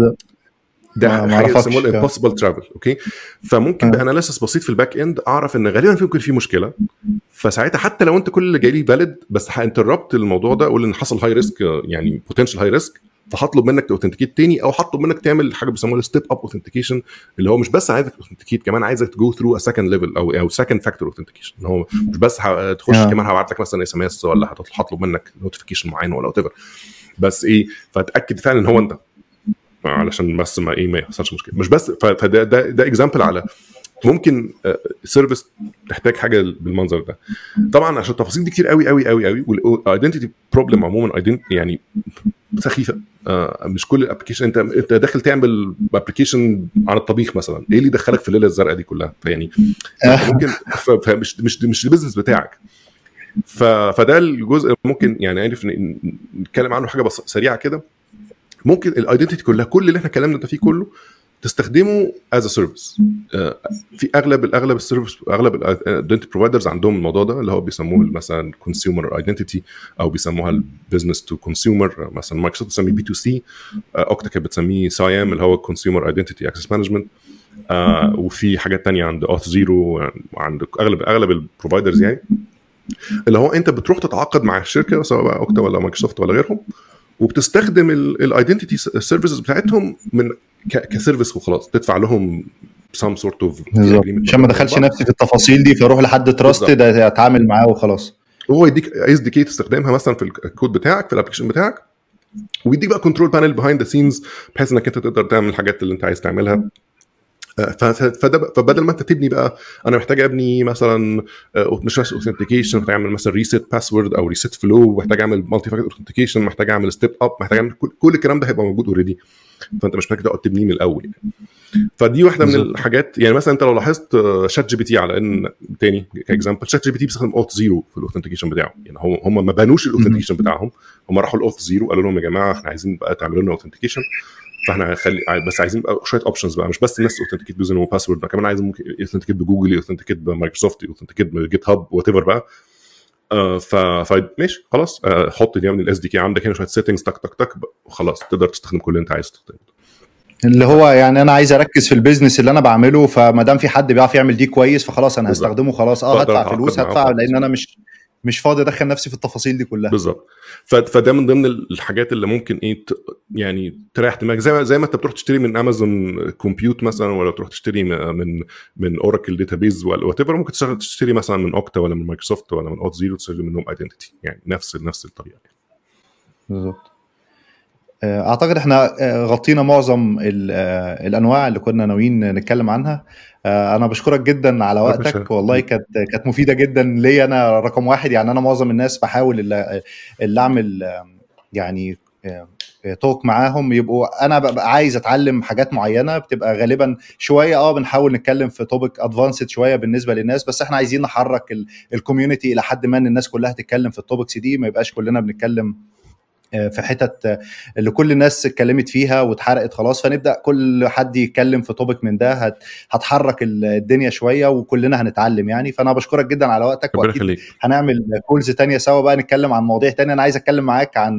ده حاجه اسمها الامبوسيبل ترافل. اوكي، فممكن باناليسيس بسيط في الباك اند اعرف ان غالبا ممكن في مشكله، فساعتها حتى لو انت كل اللي جاي لي فاليد بس هانتربت الموضوع ده، اقول ان حصل هاي ريسك يعني بوتنشال هاي ريسك، فهطلب منك تاوثنتيكيت تاني، او هطلب منك تعمل حاجه بيسموها ستيب اب اوثنتيكيشن، اللي هو مش بس عايزك تاوثنتيكيت، كمان عايزك تجو ثرو ا سكند ليفل او سكند فاكتور اوثنتيكيشن، ان هو مش بس تخش كمان هبعت لك مثلا اس ام اس، ولا هطلب منك نوتيفيكيشن معين ولا وات ايفر، بس ايه، فتاكد فعلا ان هو انت، علشان بس ما يحصلش مشكله. مش بس ده اكزامبل على ممكن سيرفيس تحتاج حاجه بالمنظر ده. طبعا عشان التفاصيل دي كتير قوي قوي قوي قوي، والايدنتيتي بروبلم عموما يعني سخيفه. مش كل الابلكيشن انت داخل تعمل ابلكيشن عن الطبيخ مثلا، ايه اللي دخلك في الليله الزرقاء دي كلها؟ فيعني ممكن مش البيزنس بتاعك. فده الجزء ممكن يعني عارف نتكلم عنه حاجه بس سريعه كده. ممكن الايدنتيتي كلها، كل اللي احنا اتكلمنا ده فيه كله تستخدمه از ا سيرفيس. في اغلب السيرفيس، اغلب الايدنتيتي بروفايدرز عندهم الموضوع ده اللي هو بيسموه مثلا كونسيومر ايدنتيتي، او بيسموها البيزنس تو كونسيومر. مثلا مايكروسوفت بتسميه بي تو سي، اوكتاكاب بتسميه سايام اللي هو كونسيومر ايدنتيتي اكسس مانجمنت. وفي حاجات تانية عند اوث زيرو، عند اغلب البروفايدرز يعني، اللي هو انت بتروح تتعاقد مع الشركه سواء بقى اوكتا ولا مايكروسوفت ولا غيرهم، وبتستخدم الايدنتيتي سيرفيسز بتاعتهم من كسيرفيس وخلاص، تدفع لهم some sort of عشان ما دخلش نفسي في التفاصيل دي، فاروح لحد تراستد اتعامل معاه وخلاص. هو يديك اس دي كي تستخدمها مثلا في الكود بتاعك في الابلكيشن بتاعك، ويديك بقى كنترول بانل بيهايند ذا سينز بحيث انك انت تقدر تعمل الحاجات اللي انت عايز تعملها. فبدل ما انت تبني بقى، انا محتاج ابني مثلا مش بس اوثنتيكيشن، محتاج اعمل مثلا ريسيت باسورد او ريسيت فلو، محتاج اعمل مالتي فاكتور اوثنتيكيشن، محتاج اعمل ستيب اب، محتاج اعمل كل الكلام ده هيبقى موجود اوريدي، فانت مش محتاج تقعد تبنيه من الاول يعني. فدي واحده من الحاجات. يعني مثلا انت لو لاحظت شات جي بي تي، على ان تاني كاكزامبل، شات جي بي تي بيستخدم اوث زيرو في الاوثنتيكيشن بتاعه. يعني هم ما بنوش الاوثنتيكيشن بتاعهم، هم راحوا الاوث زيرو قالوا لهم يا جماعه احنا عايزين بقى تعملوا لنا اوثنتيكيشن، فاحنا هنخلي بس عايزين بقى شويه اوبشنز بقى، مش بس الناس اوثنتيكيت بيوزر وباسورد، كمان عايزين ممكن اوثنتيكيت بجوجل، اوثنتيكيت بمايكروسوفت، اوثنتيكيت بجيت هاب وات ايفر بقى. فماشي خلاص، حط دي من الاس دي كي عندك هنا شويه سيتنجز تك تك تك وخلاص تقدر تستخدم كل اللي انت عايز تستخدمه. اللي هو يعني انا عايز اركز في البيزنس اللي انا بعمله، فما دام في حد بيعرف يعمل دي كويس فخلاص انا هستخدمه خلاص. هدفع فلوس، هدفع، لان انا مش فاضي ادخل نفسي في التفاصيل دي كلها. بالظبط. فده من ضمن الحاجات اللي ممكن ايه يعني تريح دماغك، زي ما انت بتروح تشتري من امازون كومبيوت مثلا، ولا تروح تشتري من اوراكل داتابيز ولا وات ايفر، ممكن تشتري مثلا من اوكتا ولا من مايكروسوفت ولا من اوت زيرو، تشتري منهم ايدنتيتي، يعني نفس الطريقه. بالظبط. اعتقد احنا غطينا معظم الانواع اللي كنا ناويين نتكلم عنها. انا بشكرك جدا على وقتك، والله كانت مفيده جدا ليا انا رقم واحد. يعني انا معظم الناس بحاول اللي اعمل يعني توك معاهم يبقوا انا ببقى عايز اتعلم حاجات معينه، بتبقى غالبا شويه بنحاول نتكلم في توبيك ادفانسد شويه بالنسبه للناس، بس احنا عايزين نحرك الكوميونتي الى حد ما، ان الناس كلها تتكلم في التوبكس دي، ما يبقاش كلنا بنتكلم في حتت اللي كل الناس اتكلمت فيها واتحرقت خلاص، فنبدا كل حد يتكلم في توبيك من ده، هتحرك الدنيا شويه وكلنا هنتعلم يعني. فانا بشكرك جدا على وقتك، واكيد هنعمل كولز تانية سوا بقى نتكلم عن مواضيع تانية. انا عايز اتكلم معاك عن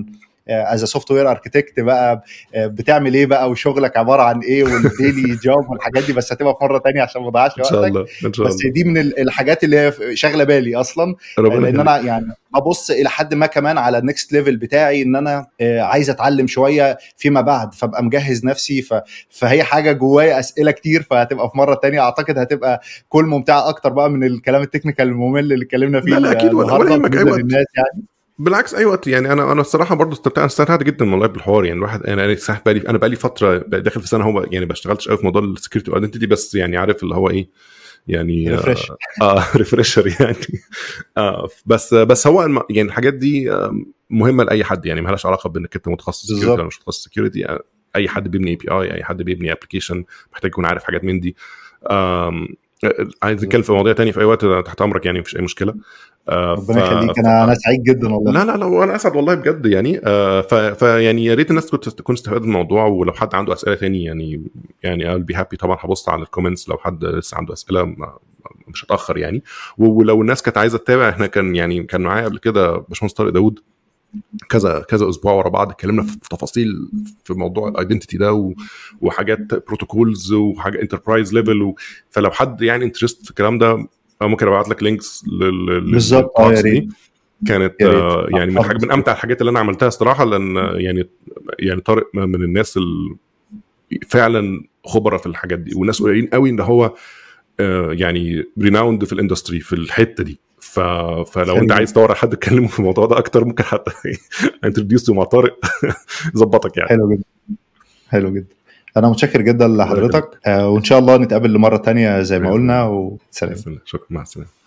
از سوفت وير اركتكت بقى بتعمل ايه بقى وشغلك عباره عن ايه والديلي جوب والحاجات دي، بس هتبقى في مره تانية عشان ما اضيعش ان شاء وقتك. الله ان شاء بس الله. دي من الحاجات اللي هي شاغله بالي اصلا، لان انا يعني ابص الى حد ما كمان على النكست ليفل بتاعي، ان انا عايز اتعلم شويه فيما بعد، فابقى مجهز نفسي. فهي حاجه جوايا اسئله كتير، فهتبقى في مره تانية اعتقد هتبقى كل ممتعه اكتر بقى من الكلام التكنيكال الممل اللي اتكلمنا فيه. لا اكيد، ولا يهمك اي وقت للناس يعني. بالعكس اي وقت يعني. انا الصراحه برضو استمتعت جدا والله بالحوار يعني. الواحد انا بقالي فتره داخل في سنه هو يعني بشتغلش قوي في موضوع السكيورتي والايدنتيتي، بس يعني عارف اللي هو ايه يعني ريفريشر يعني. بس هو يعني الحاجات دي مهمه لاي حد يعني، ما لهاش علاقه بانك انت متخصص سكيورتي ولا مش متخصص سكيورتي. اي حد بيبني اي بي اي، اي حد بيبني ابلكيشن محتاج يكون عارف حاجات من دي. عايز نتكلم في مواضيع تانية في اي وقت تحت امرك يعني، مفيش اي مشكله. ربنا يخليك، انا سعيد جدا والله. لا وانا اسعد والله بجد يعني. فيعني يا ريت الناس تكون استفادت من الموضوع، ولو حد عنده اسئله تاني يعني I'll be happy طبعا. هبص على الكومنتس لو حد لسه عنده اسئله، مش هتاخر يعني. ولو الناس كانت عايزه تتابع، احنا كان معايا قبل كده باشمهندس طارق داود كذا اسبوع ورا بعض اتكلمنا في تفاصيل في موضوع الايدنتيتي ده وحاجات بروتوكولز وحاجه انتربرايز ليفل. فلو حد يعني انترست في الكلام ده، ممكن ابعت لك لينكس بالظبط. دي كانت يعني من امتع الحاجات اللي انا عملتها صراحه، لان يعني طارق من الناس فعلا خبره في الحاجات دي، والناس قليلين قوي ان هو يعني ريناوند في الاندستري في الحته دي. فلو انت عايز تدور على حد تكلمه في الموضوع ده اكتر، ممكن حتى انتروديوسه مع طارق ظبطك يعني. حلو جدا. انا متشكر جدا لحضرتك، وان شاء الله نتقابل لمره تانية زي ما قلنا. وسلام. شكرا، مع السلامه.